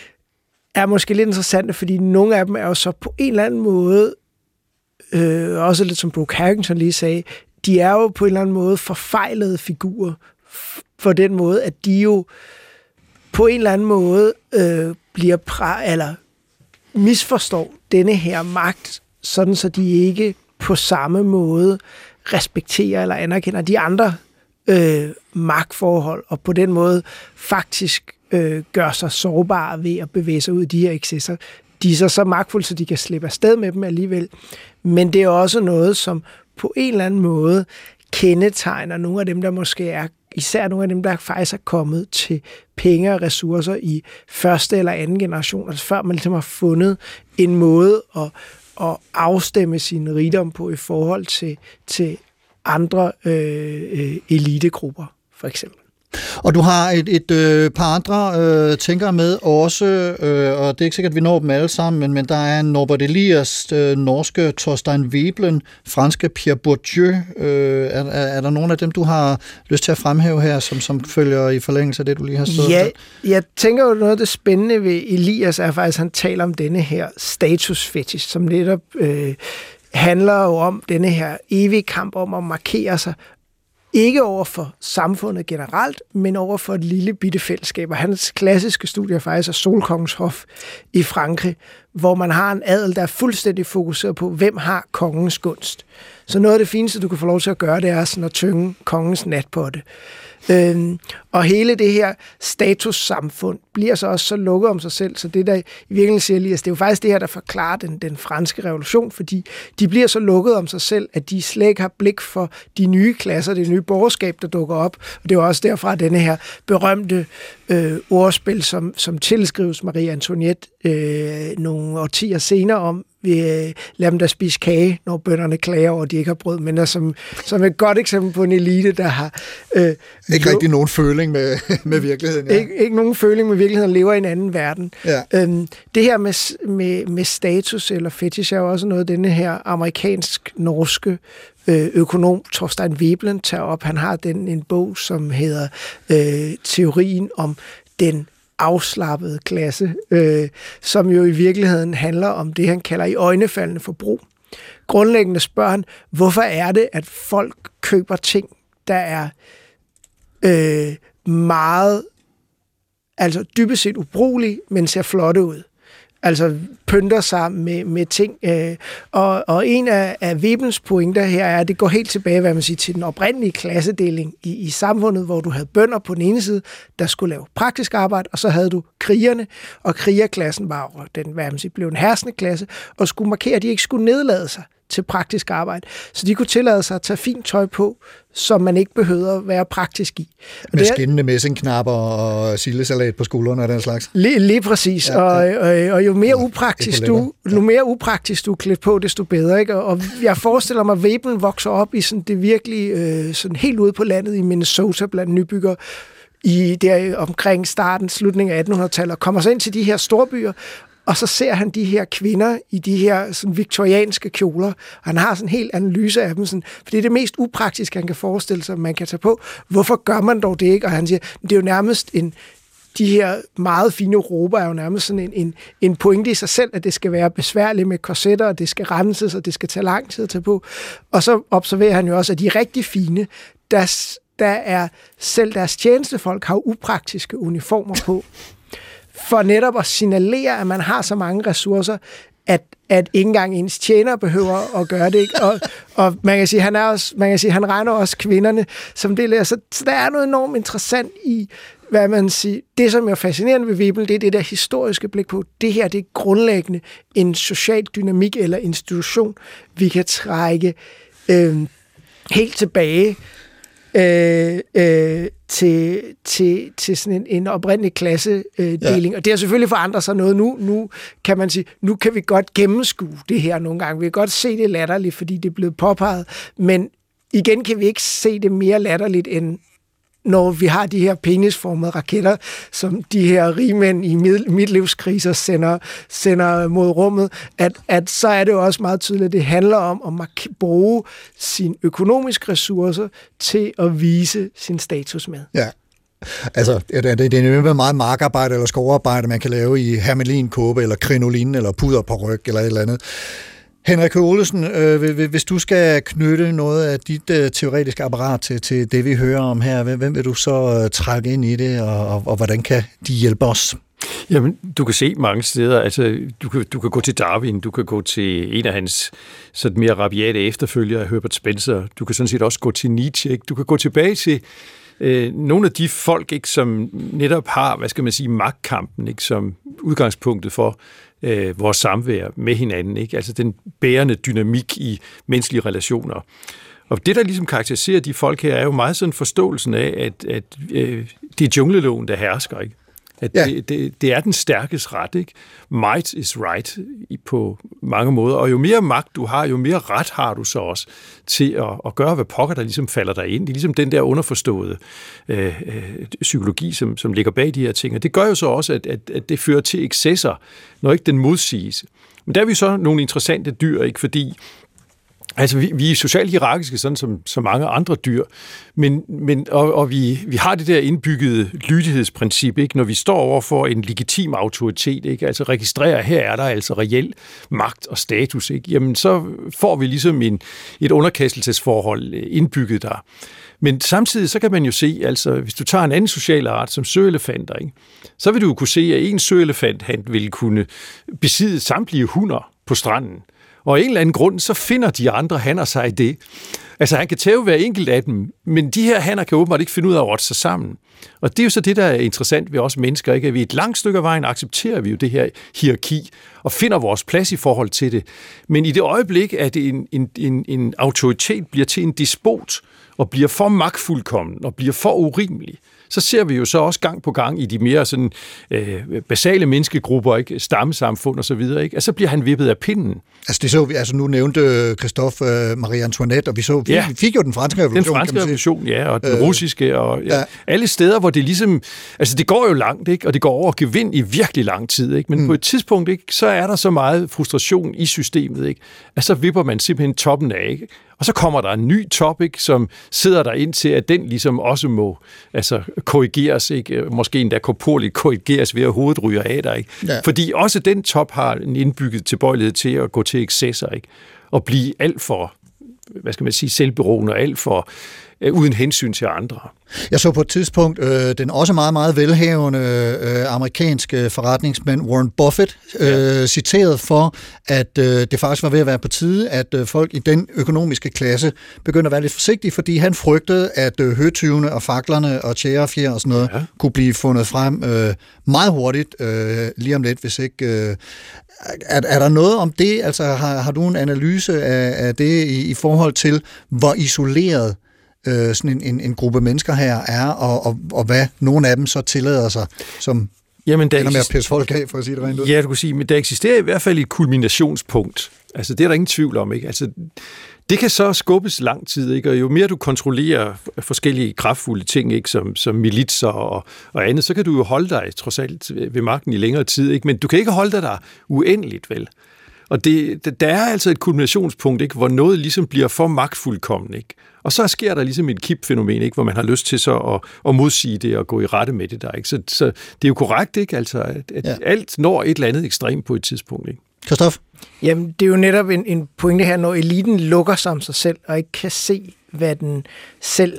er måske lidt interessante, fordi nogle af dem er jo så på en eller anden måde, øh, også lidt som Brooke Harrington lige sagde, de er jo på en eller anden måde forfejlede figurer, for den måde, at de jo på en eller anden måde øh, bliver præ- eller misforstår denne her magt, sådan så de ikke på samme måde respekterer eller anerkender de andre øh, magtforhold, og på den måde faktisk øh, gør sig sårbare ved at bevæge sig ud i de her excesser. De er så, så magtfulde, så de kan slippe afsted med dem alligevel. Men det er også noget, som på en eller anden måde kendetegner nogle af dem, der måske er, især nogle af dem, der faktisk er kommet til penge og ressourcer i første eller anden generation, altså før man ligesom har fundet en måde at, at afstemme sin rigdom på i forhold til, til andre øh, elitegrupper, for eksempel. Og du har et, et øh, par andre øh, tænkere med også, øh, og det er ikke sikkert, at vi når dem alle sammen, men, men der er Norbert Elias, øh, norske Thorstein Veblen, franske Pierre Bourdieu. Øh, er, er der nogen af dem, du har lyst til at fremhæve her, som, som følger i forlængelse af det, du lige har stået? Ja, jeg tænker jo, noget af det spændende ved Elias er faktisk, at han taler om denne her statusfetish, som netop øh, handler jo om denne her evige kamp om at markere sig, ikke over for samfundet generelt, men over for et lille bitte fællesskab. Og hans klassiske studie er faktisk af Solkongens Hof i Frankrig, hvor man har en adel, der er fuldstændig fokuseret på, hvem har kongens gunst. Så noget af det fineste, du kan få lov til at gøre, det er sådan at tynge kongens natpotte. Øhm, og hele det her statussamfund bliver så også så lukket om sig selv, så det der i virkeligheden siger Elias, det er jo faktisk det her, der forklarer den, den franske revolution, fordi de bliver så lukket om sig selv, at de slet ikke har blik for de nye klasser, det nye borgerskab, der dukker op. Og det er jo også derfra denne her berømte øh, ordspil, som, som tilskrives Marie Antoinette øh, nogle årtier senere om, vi øh, lader dem der spise kage, når bønderne klager over, at de ikke har brød, men der som, som et godt eksempel på en elite, der har... Øh, ikke rigtig nogen føling med, med virkeligheden. Ja. Ikke, ikke nogen føling med virkeligheden, lever i en anden verden. Ja. Øhm, det her med, med, med status eller fetish er jo også noget, denne her amerikansk-norske øh, økonom Thorstein Veblen tager op. Han har den en bog, som hedder øh, Teorien om den afslappede klasse, øh, som jo i virkeligheden handler om det, han kalder i øjnefaldende forbrug. Grundlæggende spørger han, hvorfor er det, at folk køber ting, der er øh, meget, altså dybest set ubrugelige, men ser flotte ud. Altså pynter sig med, med ting. Øh, og, og en af, af Vebens pointer her er, at det går helt tilbage, hvad man siger, til den oprindelige klassedeling i, i samfundet, hvor du havde bønder på den ene side, der skulle lave praktisk arbejde, og så havde du krigerne, og krigerklassen var jo den, hvad man siger, blev en herskende klasse, og skulle markere, at de ikke skulle nedlade sig til praktisk arbejde. Så de kunne tillade sig at tage fint tøj på, som man ikke behøvede at være praktisk i. Og med skinnende messingknapper og sildesalat på skuldrene og den slags. Lige, lige præcis. Ja, og, og, og jo mere upraktisk du, jo mere upraktisk du er klædt på, desto bedre. Ikke? Og jeg forestiller mig, at Veblen vokser op i sådan det virkelig øh, sådan helt ude på landet i Minnesota blandt nybyggere i der omkring starten, slutningen af attenhundredetallet, og kommer så ind til de her storbyer, og så ser han de her kvinder i de her sådan, viktorianske kjoler, og han har sådan en helt analyse af dem, sådan, for det er det mest upraktiske, han kan forestille sig, man kan tage på. Hvorfor gør man dog det ikke? Og han siger, det er jo nærmest en, de her meget fine rober er jo nærmest sådan en, en, en pointe i sig selv, at det skal være besværligt med korsetter, og det skal renses, og det skal tage lang tid at tage på. Og så observerer han jo også, at de er rigtig fine, der, der er selv deres tjenestefolk har upraktiske uniformer på, for netop at signalere, at man har så mange ressourcer, at, at ikke engang ens tjener behøver at gøre det. Ikke? Og, og man kan sige, han er også, man kan sige, han regner også kvinderne som del af. Så, så der er noget enormt interessant i, hvad man siger. Det, som er fascinerende ved Veblen, det er det der historiske blik på. Det her, det er grundlæggende en social dynamik eller institution, vi kan trække øh, helt tilbage Øh, øh, til, til, til sådan en, en oprindelig klassedeling. Ja. Og det har selvfølgelig forandret sig noget. Nu, nu kan man sige, nu kan vi godt gennemskue det her nogle gange. Vi kan godt se det latterligt, fordi det er blevet påpeget. Men igen kan vi ikke se det mere latterligt, end når vi har de her penisformede raketter, som de her rigmænd i midtlivskriser sender, sender mod rummet, at, at så er det jo også meget tydeligt, at det handler om at bruge sine økonomiske ressourcer til at vise sin status med. Ja. Altså, det, det er jo meget markarbejde eller skovarbejde, man kan lave i hermelinkåbe, eller krinolin, eller puder på ryg, eller et eller andet. Henrik Olesen, øh, hvis du skal knytte noget af dit øh, teoretiske apparat til, til det, vi hører om her, hvem vil du så øh, trække ind i det, og, og, og hvordan kan de hjælpe os? Jamen, du kan se mange steder. Altså, du kan, du kan gå til Darwin, du kan gå til en af hans sådan mere rabiate efterfølgere, Herbert Spencer. Du kan sådan set også gå til Nietzsche. Ikke? Du kan gå tilbage til øh, nogle af de folk, ikke, som netop har, hvad skal man sige, magtkampen, ikke, som udgangspunktet for øh, vores samvær med hinanden. Ikke? Altså den bærende dynamik i menneskelige relationer. Og det, der ligesom karakteriserer de folk her, er jo meget sådan forståelsen af, at, at øh, det er jungleloven, der hersker, ikke? At ja. det, det, det er den stærkes ret, ikke? Might is right på mange måder, og jo mere magt du har, jo mere ret har du så også til at, at gøre, hvad pokker der ligesom falder dig ind. Det er ligesom den der underforståede øh, øh, psykologi, som, som ligger bag de her ting, og det gør jo så også, at, at, at det fører til excesser, når ikke den modsiges. Men der er vi så nogle interessante dyr, ikke? Fordi altså, vi, vi er socialt hierarkiske, sådan som så mange andre dyr, men, men, og, og vi, vi har det der indbyggede lydighedsprincip, ikke? Når vi står over for en legitim autoritet, ikke? Altså registrerer, her er der altså reel magt og status, ikke? Jamen, så får vi ligesom en, et underkastelsesforhold indbygget der. Men samtidig så kan man jo se, altså hvis du tager en anden social art som søelefanter, ikke? Så vil du jo kunne se, at en søelefant han vil kunne besidde samtlige hunder på stranden. Og af en eller anden grund, så finder de andre hanner sig i det. Altså, han kan tæve hver enkelt af dem, men de her hanner kan åbenbart ikke finde ud af at rotte sig sammen. Og det er jo så det, der er interessant ved os mennesker, ikke? At vi et langt stykke af vejen accepterer vi jo det her hierarki og finder vores plads i forhold til det. Men i det øjeblik, at en, en, en, en autoritet bliver til en despot og bliver for magtfuldkommen og bliver for urimelig, så ser vi jo så også gang på gang i de mere sådan, øh, basale menneskegrupper, ikke? Stammesamfund og så videre, ikke? Altså, så bliver han vippet af pinden. Altså, det så vi, altså nu nævnte Christophe uh, Marie Antoinette, og vi, så, vi, ja. vi fik jo den franske revolution. Den franske revolution, ja, og den øh, russiske, og ja, ja. alle steder, hvor det ligesom, altså det går jo langt, ikke? Og det går over gevind i virkelig lang tid, ikke? Men mm. på et tidspunkt, ikke, så er der så meget frustration i systemet, ikke? At så vipper man simpelthen toppen af, ikke? Og så kommer der en ny topic, som sidder der ind til, at den ligesom også må altså, korrigeres, ikke? Måske endda korporligt korrigeres ved at hovedet ryger af dig, ikke? Ja. Fordi også den top har en indbygget tilbøjelighed til at gå til excesser, ikke? Og blive alt for, hvad skal man sige, selvberoende og alt for øh, uden hensyn til andre. Jeg så på et tidspunkt øh, den også meget, meget velhavende øh, amerikanske forretningsmand Warren Buffett øh, ja. citeret for, at øh, det faktisk var ved at være på tide, at øh, folk i den økonomiske klasse begyndte at være lidt forsigtige, fordi han frygtede, at øh, høtyvene og faklerne og tjærefjer og sådan noget ja. kunne blive fundet frem øh, meget hurtigt øh, lige om lidt, hvis ikke... Øh, er, er der noget om det? Altså har, har du en analyse af, af det i, i forhold til, hvor isoleret Øh, sådan en, en, en gruppe mennesker her er, og, og, og hvad nogle af dem så tillader sig, som Jamen, der ender med at pisse folk af, for at sige det rent ud. Ja, du kan sige, men der eksisterer i hvert fald et kulminationspunkt. Altså, det er der ingen tvivl om, ikke? Altså, det kan så skubbes lang tid, ikke? Og jo mere du kontrollerer forskellige kraftfulde ting, ikke? Som, som militser og, og andet, så kan du jo holde dig trods alt ved magten i længere tid, ikke? Men du kan ikke holde dig der uendeligt, vel? Og det, der er altså et kulminationspunkt, ikke? Hvor noget ligesom bliver for magtfuldkommen, ikke? Og så sker der ligesom et kipfænomen, ikke? Hvor man har lyst til så at, at modsige det og gå i rette med det der, ikke? Så, så det er jo korrekt, ikke? Altså, at, at ja. alt når et eller andet ekstremt på et tidspunkt, ikke? Christoph? Jamen, det er jo netop en, en pointe her, når eliten lukker sig om sig selv og ikke kan se, hvad den selv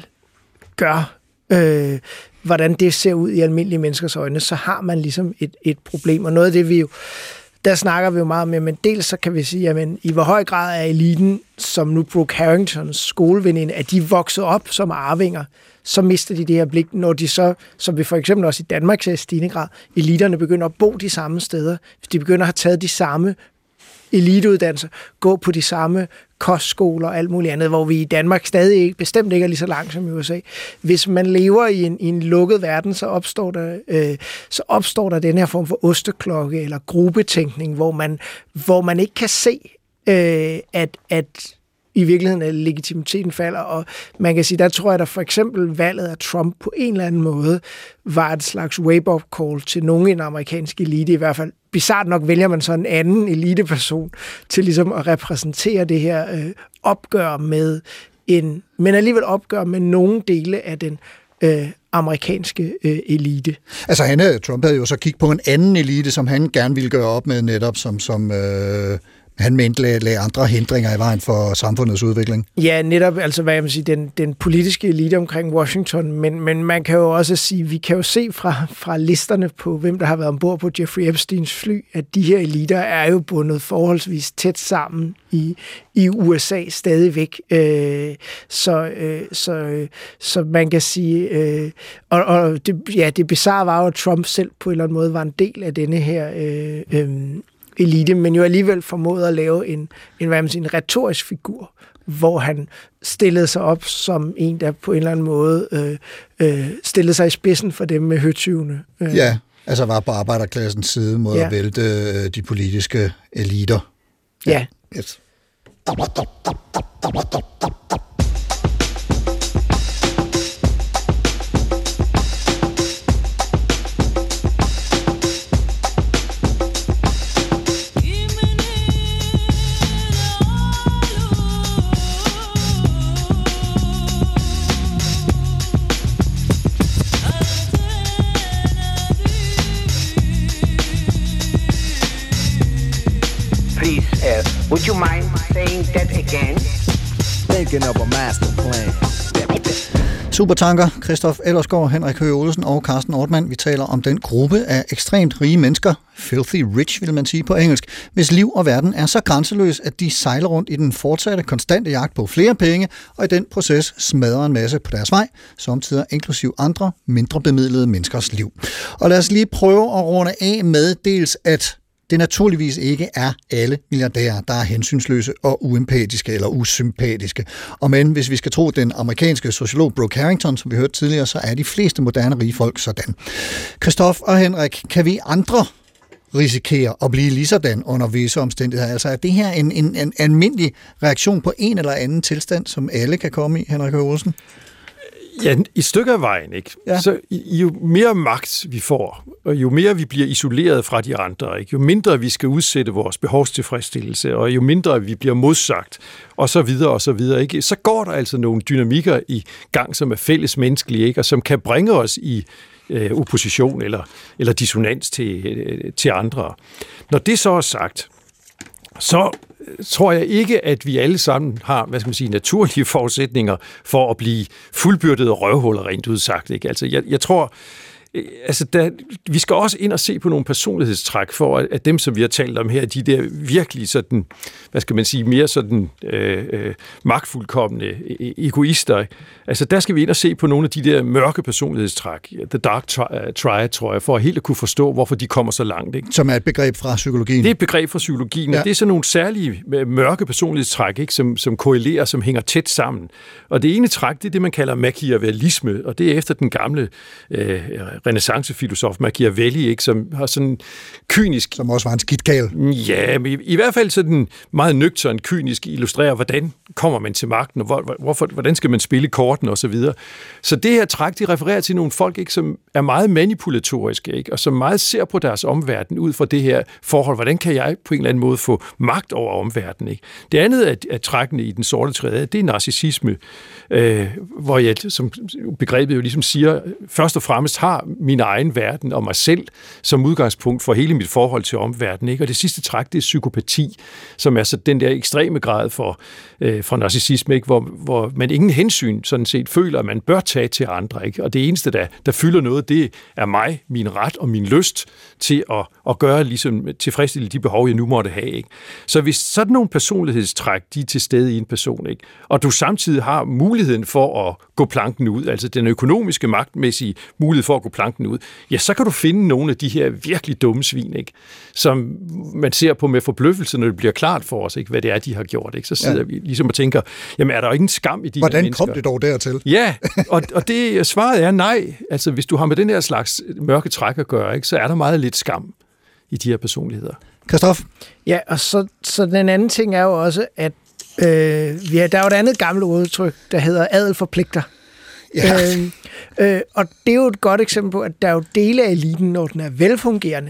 gør, øh, hvordan det ser ud i almindelige menneskers øjne, så har man ligesom et, et problem. Og noget af det, vi jo der snakker vi jo meget om, men dels så kan vi sige, at i hvor høj grad er eliten, som nu Brooke Harringtons skoleveninde, at de vokset op som arvinger, så mister de det her blik, når de så, som vi for eksempel også i Danmark ser i stigende grad, eliterne begynder at bo de samme steder, hvis de begynder at have taget de samme eliteuddannelser, gå på de samme kostskoler og alt muligt andet, hvor vi i Danmark stadig ikke, bestemt ikke er lige så langt som i U S A. Hvis man lever i en, i en lukket verden, så opstår, der, øh, så opstår der den her form for osteklokke eller gruppetænkning, hvor man, hvor man ikke kan se, øh, at, at i virkeligheden at legitimiteten falder, og man kan sige, der tror jeg, at for eksempel valget af Trump på en eller anden måde var et slags wake-up call til nogen i den amerikanske elite, i hvert fald. Bizarrt nok vælger man så en anden eliteperson til ligesom at repræsentere det her øh, opgør med en, men alligevel opgør med nogle dele af den øh, amerikanske øh, elite. Altså han, Trump havde jo så kigget på en anden elite, som han gerne ville gøre op med netop, som, som øh, Han mente lagde, lagde andre hindringer i vejen for samfundets udvikling. Ja, netop, altså hvad jeg vil sige, den, den politiske elite omkring Washington, men, men man kan jo også sige, vi kan jo se fra, fra listerne på, hvem der har været ombord på Jeffrey Epsteins fly, at de her eliter er jo bundet forholdsvis tæt sammen i, i U S A stadigvæk. Øh, så, øh, så, øh, så man kan sige, øh, og, og det, ja, det bizarre var jo, at Trump selv på en eller anden måde var en del af denne her øh, øh, elite, men jo alligevel formåede at lave en, en, hvad man siger, en retorisk figur, hvor han stillede sig op som en, der på en eller anden måde øh, øh, stillede sig i spidsen for dem med høtyvene. Øh. Ja, altså var på arbejderklassens side mod ja. at vælte øh, de politiske eliter. Ja. ja. Yes. Would you mind saying that again? Thinking of a master plan. Supertanker, Christoph Ellersgaard, Henrik Høgh Olesen og Carsten Ortmann. Vi taler om den gruppe af ekstremt rige mennesker, filthy rich vil man sige på engelsk, hvis liv og verden er så grænseløs, at de sejler rundt i den fortsatte konstante jagt på flere penge, og i den proces smadrer en masse på deres vej, samtidig inklusiv andre mindre bemidlede menneskers liv. Og lad os lige prøve at runde af med dels, at det naturligvis ikke er alle milliardærer, der er hensynsløse og uempatiske eller usympatiske. Og men hvis vi skal tro den amerikanske sociolog Brooke Harrington, som vi hørte tidligere, så er de fleste moderne rige folk sådan. Christoph og Henrik, kan vi andre risikere at blive lige sådan under visse omstændigheder? Altså er det her en, en, en almindelig reaktion på en eller anden tilstand, som alle kan komme i, Henrik Høgh Olesen? Ja, i stykker af vejen, ikke? Ja. Så jo mere magt vi får, og jo mere vi bliver isoleret fra de andre, ikke? Jo mindre vi skal udsætte vores behovstilfredsstillelse, og jo mindre vi bliver modsagt, og så videre, og så videre, ikke? Så går der altså nogle dynamikker i gang, som er fælles menneskelige, ikke? Og som kan bringe os i øh, opposition eller, eller dissonans til, øh, til andre. Når det så er sagt, så tror jeg ikke, at vi alle sammen har, hvad skal man sige, naturlige forudsætninger for at blive fuldbyrdede røvhuller, rent udsagt, ikke? Altså, jeg, jeg tror, altså, der, vi skal også ind og se på nogle personlighedstræk for, at, at dem, som vi har talt om her, de der virkelig sådan, hvad skal man sige, mere sådan øh, øh, magtfuldkomne egoister. Altså, der skal vi ind og se på nogle af de der mørke personlighedstræk, the dark triad, tror jeg, for helt at kunne forstå, hvorfor de kommer så langt, ikke? Som er et begreb fra psykologien. Det er et begreb fra psykologien, ja. Og det er sådan nogle særlige mørke personlighedstræk, ikke? Som, som korrelerer, som hænger tæt sammen. Og det ene træk, det er det, man kalder machiavellisme, og det er efter den gamle øh, renæssancefilosof Machiavelli, ikke, som har sådan kynisk... Som også var en skidtkæl. Ja, men i, i hvert fald sådan meget nøgtern, kynisk illustrerer, hvordan kommer man til magten, og hvor, hvorfor, hvordan skal man spille korten, og så videre. Så det her træk, de refererer til nogle folk, ikke, som er meget manipulatoriske, ikke, og som meget ser på deres omverden ud fra det her forhold. Hvordan kan jeg på en eller anden måde få magt over omverdenen, ikke? Det andet af, af trækkene i den sorte træde, det er narcissisme, øh, hvor jeg, som begrebet jo ligesom siger, først og fremmest har min egen verden og mig selv som udgangspunkt for hele mit forhold til omverdenen, ikke? Og det sidste træk, det er psykopati, som er så den der ekstreme grad for, øh, for narcissisme, ikke? Hvor, hvor man ingen hensyn sådan set føler, at man bør tage til andre, ikke? Og det eneste, der, der fylder noget, det er mig, min ret og min lyst til at, at gøre ligesom tilfredsstille de behov, jeg nu måtte have, ikke? Så hvis sådan nogle personlighedstræk, de er til stede i en person, ikke? Og du samtidig har muligheden for at gå planken ud, altså den økonomiske magtmæssige mulighed for at gå planken ud, ja, så kan du finde nogle af de her virkelig dumme svin, ikke? Som man ser på med forbløffelse, når det bliver klart for os, ikke? Hvad det er, de har gjort, ikke? Så sidder ja. vi ligesom og tænker, jamen er der jo ingen skam i de Hvordan her mennesker? Hvordan kom det dog dertil? Ja, og, og det svaret er nej. Altså hvis du har med den her slags mørke træk at gøre, ikke, så er der meget lidt skam i de her personligheder. Christoph? Ja, og så, så den anden ting er jo også, at øh, ja, der er jo et andet gammelt udtryk, der hedder adel forpligter. Ja. Øh, øh, og det er jo et godt eksempel på, at der er jo dele af eliten, når den er velfungerende,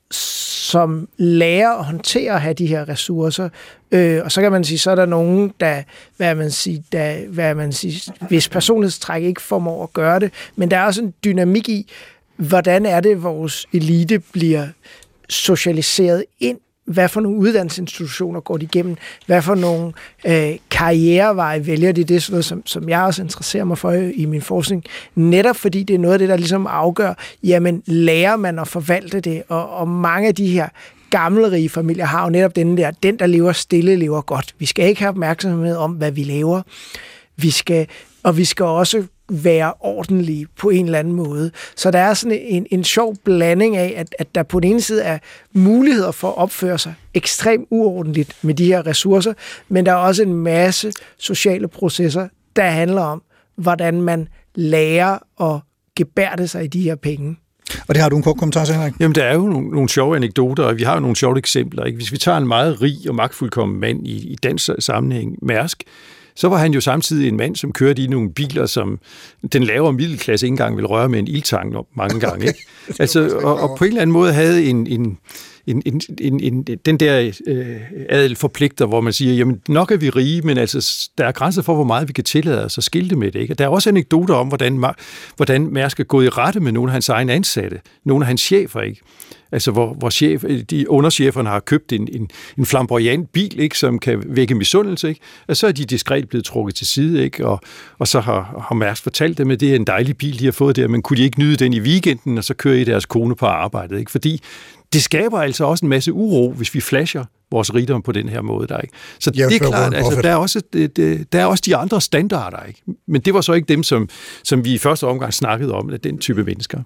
som lærer at håndtere at have de her ressourcer. Øh, og så kan man sige, så er der nogen, der, hvad man siger, der, hvad man siger, hvis personlighedstræk ikke formår at gøre det. Men der er også en dynamik i, hvordan er det, vores elite bliver socialiseret ind hvad for nogle uddannelsesinstitutioner går de igennem, hvad for nogle øh, karriereveje vælger de, det er sådan noget, som, som jeg også interesserer mig for i, i min forskning, netop fordi det er noget af det, der ligesom afgør, jamen lærer man at forvalte det, og, og mange af de her gammelrige familier har jo netop den der, den der lever stille, lever godt. Vi skal ikke have opmærksomhed om, hvad vi laver, vi skal, og vi skal også være ordentlige på en eller anden måde. Så der er sådan en, en sjov blanding af, at, at der på den ene side er muligheder for at opføre sig ekstremt uordentligt med de her ressourcer, men der er også en masse sociale processer, der handler om, hvordan man lærer at gebærde sig i de her penge. Og det har du en kort kommentar til, Henrik? Jamen, der er jo nogle, nogle sjove anekdoter, og vi har jo nogle sjove eksempler. Ikke? Hvis vi tager en meget rig og magtfuldkommen mand i, i dansk sammenhæng, Mærsk, så var han jo samtidig en mand, som kørte i nogle biler, som den lavere middelklasse ikke engang ville røre med en ildtang mange gange. Ikke? Altså, og, og på en eller anden måde havde en, en, en, en, en, en, den der øh, adel forpligter, hvor man siger, jamen nok er vi rige, men altså, der er grænser for, hvor meget vi kan tillade os at skilte med det. Ikke? Og der er også anekdoter om, hvordan, hvordan Mærsk er gået i rette med nogle af hans egne ansatte, nogle af hans chefer, ikke? Altså, hvor, hvor chef, de undercheferne har købt en, en, en flamboyant bil, ikke, som kan vække misundelse, ikke? Og så er de diskret blevet trukket til side, ikke? Og, og så har, har Mærsk fortalt dem, at det er en dejlig bil, de har fået der, men kunne de ikke nyde den i weekenden, og så kører I deres kone på arbejdet, ikke? Fordi det skaber altså også en masse uro, hvis vi flasher vores rigdom på den her måde, der, ikke? Så ja, det er klart, altså, der er, også, det, det, der er også de andre standarder, ikke? Men det var så ikke dem, som, som vi i første omgang snakkede om, at den type mennesker.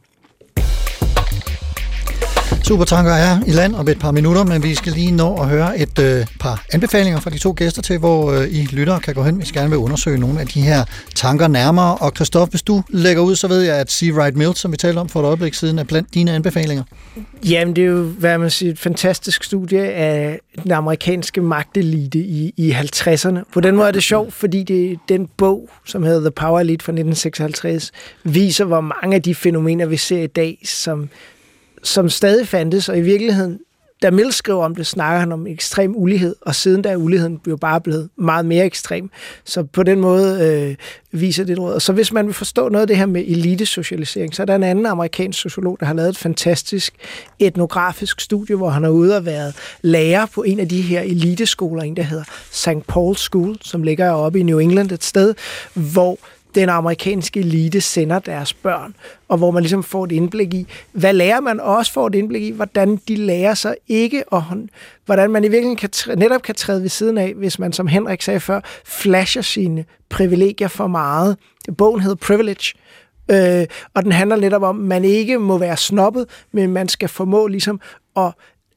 Supertanker er i land om et par minutter, men vi skal lige nå at høre et øh, par anbefalinger fra de to gæster til, hvor øh, I lyttere kan gå hen, hvis I gerne vil undersøge nogle af de her tanker nærmere. Og Christoph, hvis du lægger ud, så ved jeg, at Sea Right Mills, som vi talte om for et øjeblik siden, er blandt dine anbefalinger. Jamen, det er jo, hvad man siger, et fantastisk studie af den amerikanske magtelite i, i halvtredserne. På den måde er det sjovt, fordi det, den bog, som hedder The Power Elite fra nitten seksoghalvtreds, viser, hvor mange af de fænomener, vi ser i dag, som som stadig fandtes, og i virkeligheden, da Mills skriver om det, snakker han om ekstrem ulighed, og siden da er uligheden jo bare blevet meget mere ekstrem. Så på den måde øh, viser det et råd. Og så hvis man vil forstå noget af det her med elitesocialisering, så er der en anden amerikansk sociolog, der har lavet et fantastisk etnografisk studie, hvor han har ude og været lærer på en af de her eliteskoler, en der hedder Saint Paul's School, som ligger oppe i New England et sted, hvor den amerikanske elite sender deres børn, og hvor man ligesom får et indblik i, hvad lærer man også får et indblik i, hvordan de lærer sig ikke, og hvordan man i virkeligheden kan, netop kan træde ved siden af, hvis man, som Henrik sagde før, flasher sine privilegier for meget. Bogen hedder Privilege, øh, og den handler netop om, at man ikke må være snobbet, men man skal formå ligesom at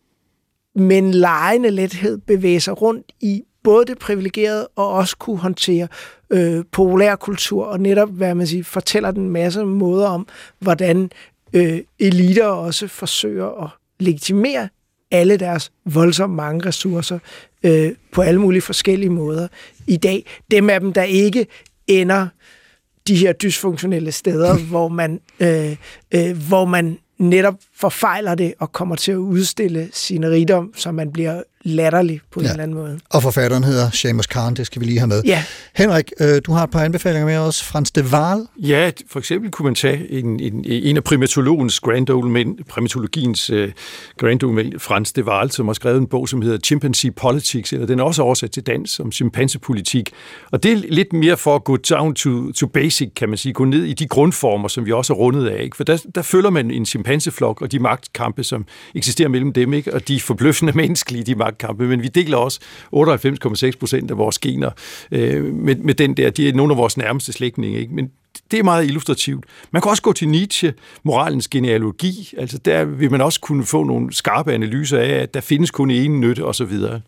med en legende lethed bevæge sig rundt i både det privilegerede og også kunne håndtere øh, populærkultur, og netop, hvad man siger, fortæller den masse måder om, hvordan øh, eliter også forsøger at legitimere alle deres voldsomt mange ressourcer øh, på alle mulige forskellige måder i dag. Dem af dem, der ikke ender de her dysfunktionelle steder, hvor man, øh, øh, hvor man netop forfejler det og kommer til at udstille sin rigdom, så man bliver latterlig på ja. en eller anden måde. Og forfatteren hedder Shamus Khan, det skal vi lige have med. Ja. Henrik, øh, du har et par anbefalinger med os. Frans de Waal. Ja, for eksempel kunne man tage en, en, en af primatologens grand old men, primatologiens uh, grand old men, Frans de Waal, som har skrevet en bog, som hedder Chimpanzee Politics, eller den er også oversat til dansk som chimpansepolitik. Og det er lidt mere for at gå down to, to basic, kan man sige, gå ned i de grundformer, som vi også er rundet af. Ikke? For der, der følger man en chimpanseflok og de magtkampe, som eksisterer mellem dem, ikke? Og de forbløffende menneskelige, de magtkampe, men vi deler også otteoghalvfems komma seks procent af vores gener øh, med, med den der, de er nogle af vores nærmeste slægtninge, ikke? Men det er meget illustrativt. Man kan også gå til Nietzsche, moralens genealogi, altså der vil man også kunne få nogle skarpe analyser af, at der findes kun én nytte, og så videre.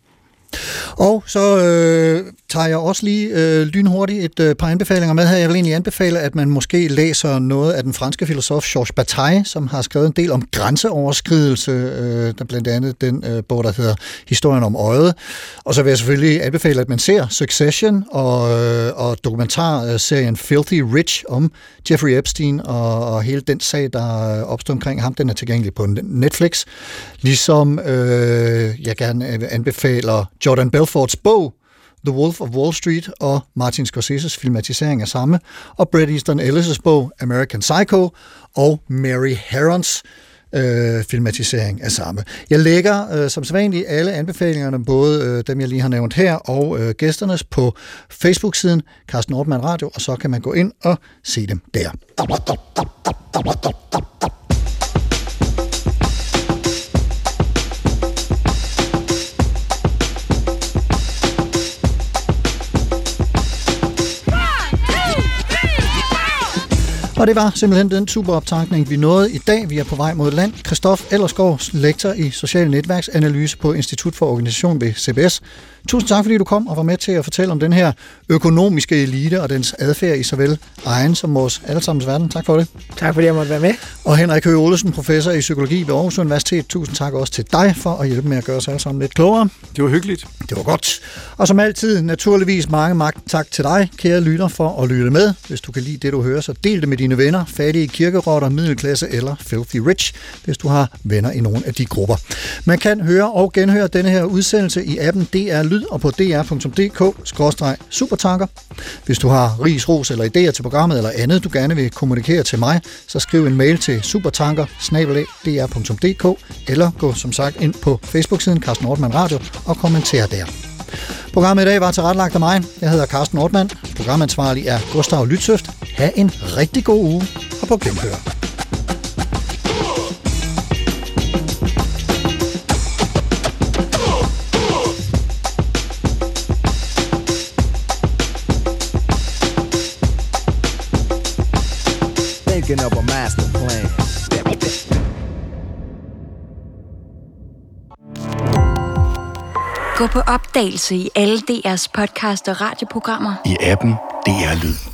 Og så øh, tager jeg også lige øh, lynhurtigt et øh, par anbefalinger med her. Jeg vil egentlig anbefale, at man måske læser noget af den franske filosof Georges Bataille, som har skrevet en del om grænseoverskridelse, øh, der blandt andet den øh, bog, der hedder Historien om øjet. Og så vil jeg selvfølgelig anbefale, at man ser Succession og, øh, og dokumentarserien Filthy Rich om Jeffrey Epstein og, og hele den sag, der opstod omkring ham. Den er tilgængelig på Netflix. Ligesom øh, jeg gerne anbefaler Jordan Belforts bog, The Wolf of Wall Street, og Martin Scorseses filmatisering af samme, og Bret Easton Ellis' bog, American Psycho, og Mary Herrons øh, filmatisering af samme. Jeg lægger øh, som sædvanligt alle anbefalingerne, både øh, dem, jeg lige har nævnt her, og øh, gæsternes på Facebook-siden Carsten Ortmann Radio, og så kan man gå ind og se dem der. Og det var simpelthen den superoptankning, vi nåede i dag. Vi er på vej mod land. Christoph Ellersgaard, lektor i social netværksanalyse på Institut for Organisation ved C B S. Tusind tak, fordi du kom og var med til at fortælle om den her økonomiske elite og dens adfærd i såvel egen som vores allesammens verden. Tak for det. Tak fordi jeg måtte være med. Og Henrik Høgh Olesen, professor i psykologi ved Aarhus Universitet. Tusind tak også til dig for at hjælpe med at gøre os alle sammen lidt klogere. Det var hyggeligt. Det var godt. Og som altid, naturligvis mange, mange tak til dig, kære lytter, for at lytte med. Hvis du kan lide det, du hører, så del det med dine venner, fattige kirkerotter, middelklasse eller filthy rich, hvis du har venner i nogle af de grupper. Man kan høre og genhøre denne her udsendelse i appen D R Lyd og på d r punktum d k skråstreg supertanker. Hvis du har ris, ros eller idéer til programmet eller andet, du gerne vil kommunikere til mig, så skriv en mail til supertanker snabel-a d r punktum d k eller gå som sagt ind på Facebook-siden Carsten Ortmann Radio og kommenter der. Programmet i dag var tilrettelagt af mig. Jeg hedder Carsten Ortmann. Programansvarlig er Gustav Lytsøft. Ha' en rigtig god uge og på genhør. Thinking of a master plan. Gå på opdagelse i alle D R's podcast og radioprogrammer. I appen D R Lyd.